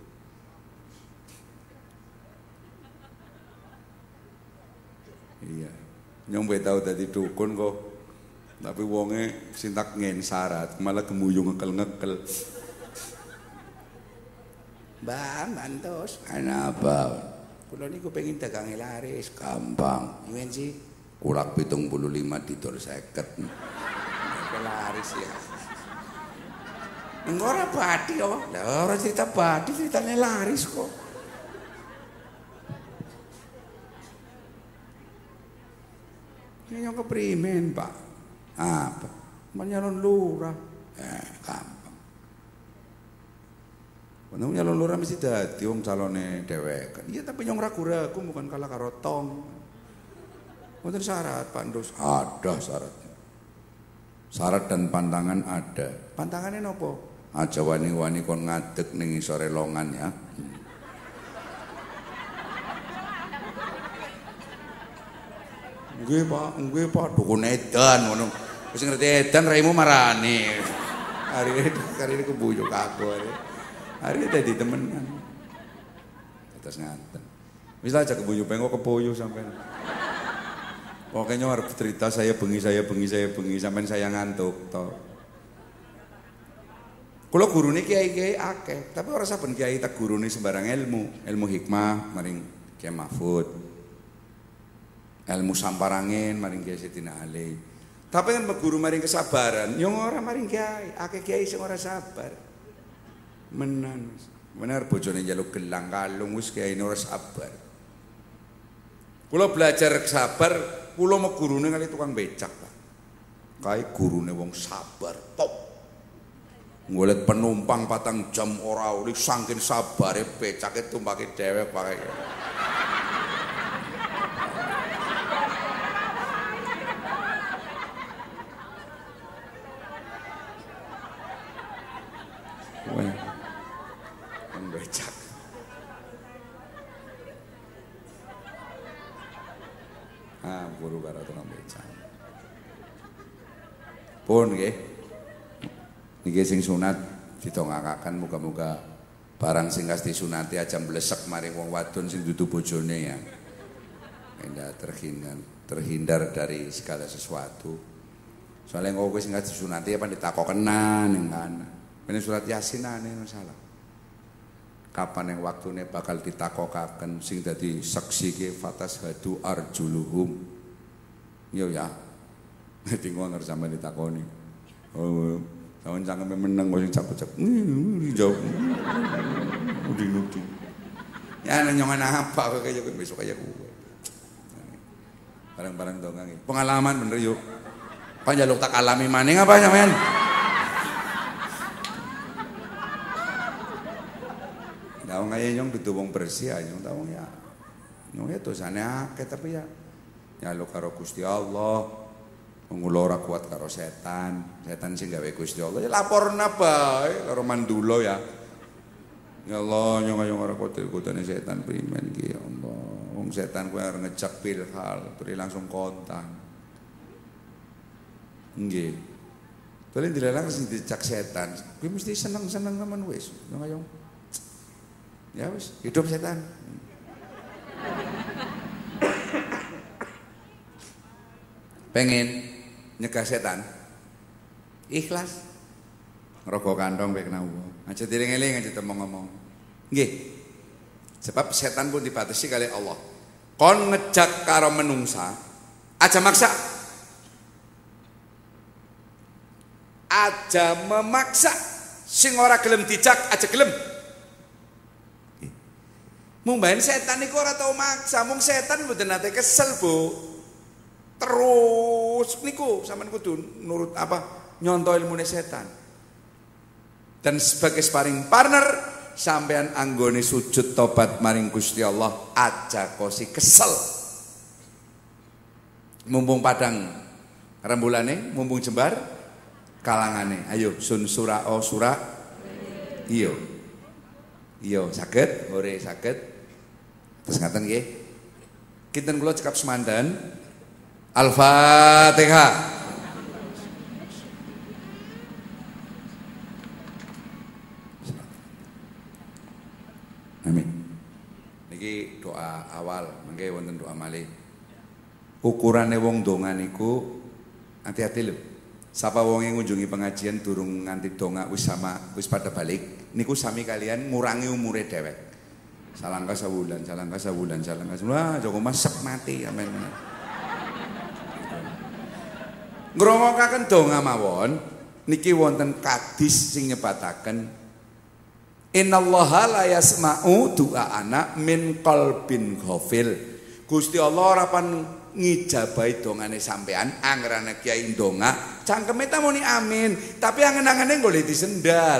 Iya, nyong tahu tadi dukun kok, tapi wonge sintak ngen syarat malah kemuyung ngekel. Bang, mantos, apa? Kulo niku pengen dagang laris, gampang, ingin sih. Kulak 75 didol 50. Laris ya. Ora bathi kok. Lah ora cerita bathi, ceritane laris kok. Ini yang keprimen, Pak. Apa? Menyalon lurah. Gampang. Wong nyalon lurah mesti dadi wong calone dhewek. Iya tapi yang ragu-ragu bukan kalah karo tong. Wonten syarat, Pak Ndus? Ada syaratnya. Syarat dan pantangan ada. Pantangannya nopo? Aja wani-wani kon ngadeg ning isore longan ya. Nggih Pak, dukun edan ngono. Wis ngerti edan raimu marani. Hari ini kebuyuk aku hari ini dadi temenan. Atas ngaten. Wis aja kebuyuk pengko kepoyo sampean. Pokoknya harus cerita saya bengi sampean saya ngantuk toh. Kula gurune kiai-kiai akeh, tapi ora saben kiai tak gurune sembarang ilmu hikmah maring Kiai Mahfud. Ilmu samparangin maring Kiai Sayyidina Ali. Tapi kan guru maring kesabaran, yo ora maring kiai, akeh kiai sing ora sabar. Menan. Bener bojone njaluk gelang kalung wis kiai ora sabar. Kula belajar sabar, kula mau gurune kali tukang becak, Pak. Kae gurune wong sabar, top. Ngolet penumpang 4 jam ora uli saking sabare becake tumpake dhewek pakai. Wah. Wong becak. Guru karo tukang becak. Pun nggih. Niki sing sunat didongakaken muga-muga barang sing kas disunati aja mlesek maring wong wadon sing dudu bojone ya. Enda terhindar dari segala sesuatu. Soalnya engko kowe sing kas disunati apa ditakokenan ning kana. Ini surat Yasin ane masalah. Kapan yang waktune bakal ditakokaken sing dadi saksi ke fatas hadu arjuluhum. Yo ya. Dadi ngono sampe ditakoni. Oh, sampeyan cangkeme meneng kok sing cakep-cakep. Jawab. Udi-udi. Ya nyongan apa kok kaya besok kaya kowe. Barang-barang dong iki. Pengalaman bener yuk. Panjaluk tak alami maning apa sampean? Wong kaya nyong dudu wong bersih aja nyong tau ya. Nyong ya dosane akeh tapi ya nyaluk karo Gusti Allah. Mula ora kuat karo setan. Setan sing gawe Gusti Allah ya laporna bae karo mandulo ya. Ya Allah nyong ora kotil-kotane setan primen iki ya Allah. Wong setan kuwi arep ngejak pilhal, terus langsung kontan. Nggih. Tole dilarang sing dicak setan. Kuwi mesti seneng-seneng temen wis. Nyong ya wis, hidup setan. Pengen nyegah setan. Ikhlas. Ngrokok kantong bae kena wong. Aja dieling-eling aja ngomong. Nggih. Sebab setan pun dibatasi kali Allah. Kon ngejak karo menungsa, aja maksa. Aja memaksa. Sing ora gelem dijak aja gelem. Mung bae setan niku ora tau maksa, mung setan mboten nate kesel, Bu. Terus niku sampean kudu nurut apa nyontoh ilmune setan. Dan sebagai sparring partner sampean anggone sujud tobat maring Gusti Allah aja kosi kesel. Mumpung padang rembulane, mumpung jembar kalangane. Ayo sun sura o sura. Iya. Iya saged, ore saged. Terus ngaten nggih. Kinten kula cekap semandan. Al-Fatihah. Amin. Niki doa awal, mengke wonten doa malih. Ukurane wong donga niku hati-hati lho. Sapa wong yang ngunjungi pengajian durung nganti donga wis pada balik, niku sami kalian ngurangi umure dhewek. Salangka sabulan. Wah, Joko masek mati amen. Ngrungokaken donga mawon niki wonten kadis sing nyebataken innallaha la yasma'u du'aana min qalbin ghafil. Gusti Allah ora pan ngijabahi dongane sampean angrene kiai ndonga cangkeme ta muni amin tapi angen-angene golek disendal.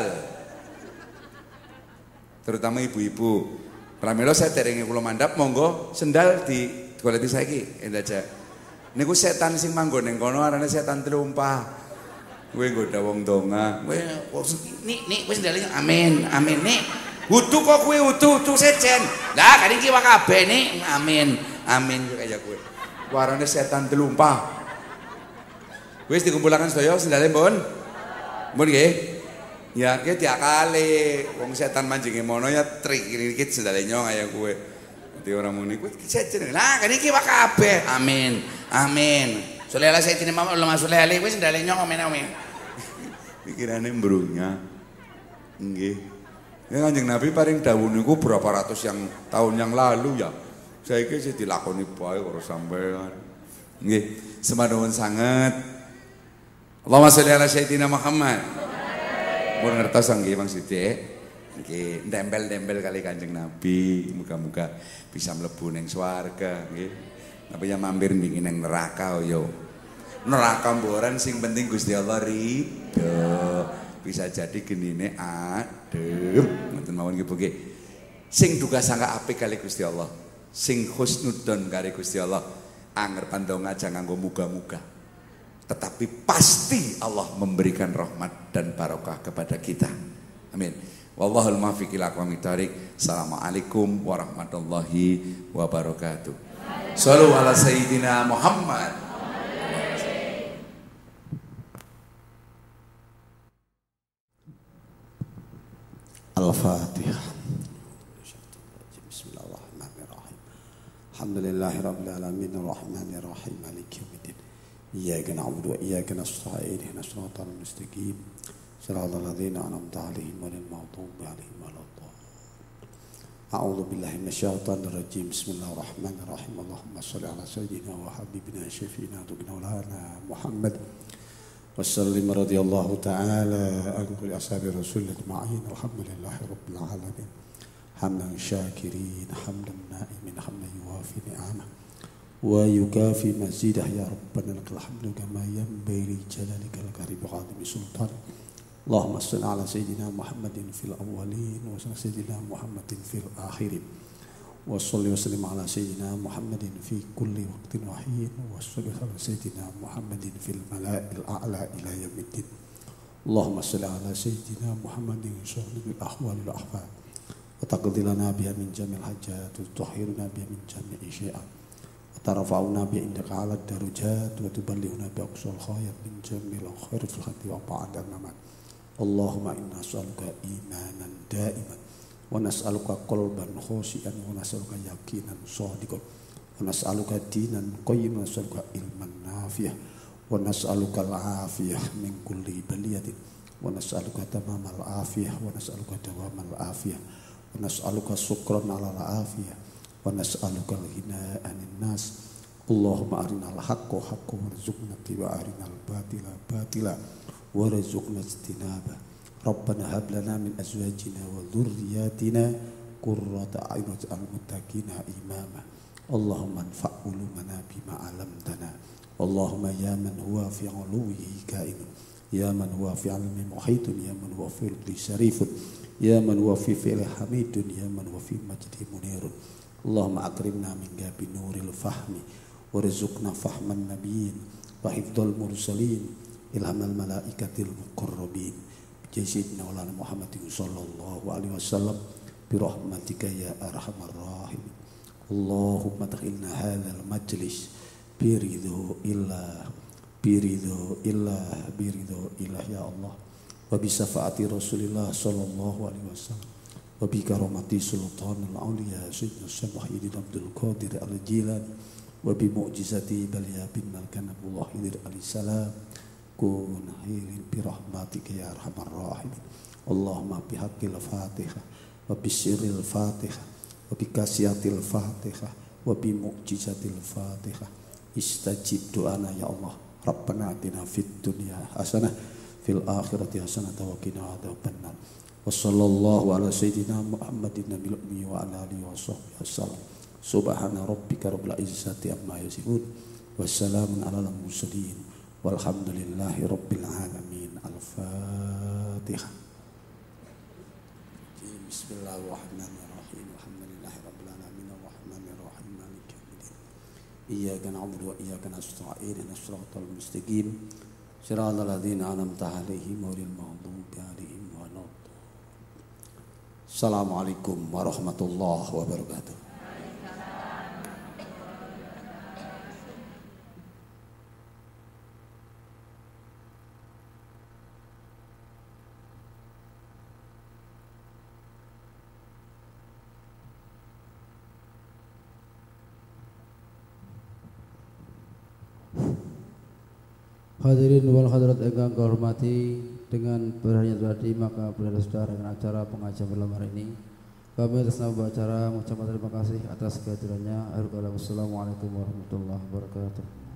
Terutama ibu-ibu. Pramila saya terenge kula mandhap monggo sendal di goleti saiki endaja. Niku setan sing manggon ning kono arane setan telumpah. Kowe nggoda wong donga. Kowe nik wis sendale amin, amin nik. Wudu kok kowe wudu sejen. Lah kan iki wae kabeh nik amin, amin kaya kowe. Warane setan telumpah. Wis dikumpulaken sedaya sendale mbon. Mbon nggih. Ya ki diakali wong setan manjinge mono ya trik iki sendale nyong kaya kowe. Dadi ora muni kowe sejen. Lah kan iki wae kabeh. Amin. Amin. Sulele sayidina Muhammad Allah sulele wis sendale nyong amin. Pikirane mbrunya. Nggih. Ya Kanjeng Nabi paring dawuh niku berapa ratus yang tahun yang lalu ya. Saiki sih dilakoni bae karo sampean. Nggih, semaduun sanget. Allahumma sholli ala sayyidina Muhammad. Mun ngertos nggih Bang Sidik. Nggih, ndempel-ndempel kali Kanjeng Nabi, muga-muga bisa mlebu ning swarga nggih. Tapi ya mampir mbingi ning neraka yo. Neraka mboran sing penting Gusti Allah ridho. Bisa jadi genine adem. Ngoten mawon nggih Bu nggih. Sing duka sangka apik kali Gusti Allah. Sing husnudzon kali Gusti Allah. Anger pandong aja nganggo muga-muga. Tetapi pasti Allah memberikan rahmat dan barokah kepada kita. Amin. Wallahul muwaffiq ila aqwamit thoriq. Assalamualaikum warahmatullahi wabarakatuh. Shallu ala sayyidina Muhammad. Al-Fatihah. Bismillahirrahmanirrahim. Alhamdulillahirabbil alamin arrahmanir rahim maliki yaumiddin. Iyyaka na'budu wa iyyaka nasta'in ihdinas siratal mustaqim. Shiratal ladzina an'amta 'alaihim ghairil maghdubi 'alaihim waladdallin. A'udzu billahi minasyaitonir rajim. Bismillahirrahmanirrahim. Allahumma shalli 'ala sayyidina wa habibina syafi'ina maulana Muhammad. Wassalim radhiyallahu ta'ala an kulli ashabi rasul ajma'in. Alhamdulillahi rabbil alamin. Hamdan syakirin, hamdan na'imin, hamdan yuwafi ni'amah wa yukafi mazidah ya rabbana lakal hamdu kama yanbaghi li jalalikal karim wa 'azimi sultan. Allahumma shalli 'ala sayyidina Muhammadin fil awwalin wa sayyidina Muhammadin fil akhirin. Wa shalli wa sallim 'ala sayyidina Muhammadin fi kulli waqtin wa hin wa shalli 'ala sayyidina Muhammadin fil mala'il a'la ila yaumiddin. Allahumma shalli 'ala sayyidina Muhammadin syahidil ahwal wal ahfad wa taqdi lana biha min jamil hajat wa tutahhiruna biha min jami'i syai'at wa tarfa'una biha indaka 'ala darajat wa tuballighuna bi aqsal khayr min jamil khair fil hati wa ba'da mamat. Allahumma inna nas'aluka imanan da'iman wa nas'aluka qalban khashi'an wa nas'aluka yaqinan shadiqan wa nas'aluka dinan qayyiman wa nas'aluka ilman nafi'an wa nas'aluka al-afiyah min kulli baliyatin wa nas'aluka tamamal afiyah wa nas'aluka dawamal afiyah wa nas'aluka syukran 'ala al-afiyah wa nas'aluka al-ghina 'anil nas. Allahumma arinal haqqa haqqan warzuqna ittiba'a wa arinal batila batila warzuqna ijtinaba. Rabbana hab lana min azwajina wa dhurriyyatina qurrata a'yun waj'alna muttaqina imama. Allahumma anfa' ulumana bima 'allamtana. Allahumma ya man huwa fi 'uluwihi ka'inun, ya man huwa fi 'ilmi muhitun, ya man huwa fi ridhi syarifun, ya man huwa fi fi'li hamidun, ya man huwa fi majdi munirun. Allahumma akrimna min gabi nuril fahmi warzuqna fahman nabiyyin wa hifdzal mursalin ilhamal malaikatil muqarrabin. Sayyidina Maulana Muhammad sallallahu alaihi wasallam bi rahmatika ya arhamar rahimin. Allahumma takhilna hadzal majlis bi ridho illah ya Allah wa bi syafaati Rasulillah sallallahu alaihi wasallam wa bi karamati sultanul auliya sayyidina Syekh Muhyiddin Abdul Qadir Al-Jilani wa bi mu'jizati Balya bin Malkan Abdullah Hidir alaihissalam kun hilin bi rahmatika ya arhamar rahimin. Allahumma bi haqqil Fatihah wa bi sirril Fatihah wa bi kasiyatil Fatihah wa bi mu'jizatil Fatihah istajib doana ya Allah. Rabbana atina fid dunya hasanah fil akhirati hasanah wa qina adzabannar. Wa sallallahu ala sayyidina Muhammadin nabiyil ummi wa ala alihi washabbihi wasallam. Subhana rabbika rabbil izzati amma yasifun wa salamun alal mursalin walhamdulillahi rabbil alamin. Al-Fatihah. Bismillahirrahmanirrahim. Alhamdulillahi rabbil alamin arrahmanir rahim maliki yaumiddin. Iyyaka na'budu wa iyyaka nasta'in ihdinas siratal mustaqim siratal ladzina an'amta 'alaihim ghairil maghdubi 'alaihim waladdallin. Assalamualaikum warahmatullahi wabarakatuh. Hadirin wal hadirat ingkang kehormati, dengan berakhirnya tadi maka berakhir sudah dengan acara pengajian malam hari ini. Kami atas nama acara mengucapkan terima kasih atas kehadirannya. Assalamualaikum warahmatullahi wabarakatuh.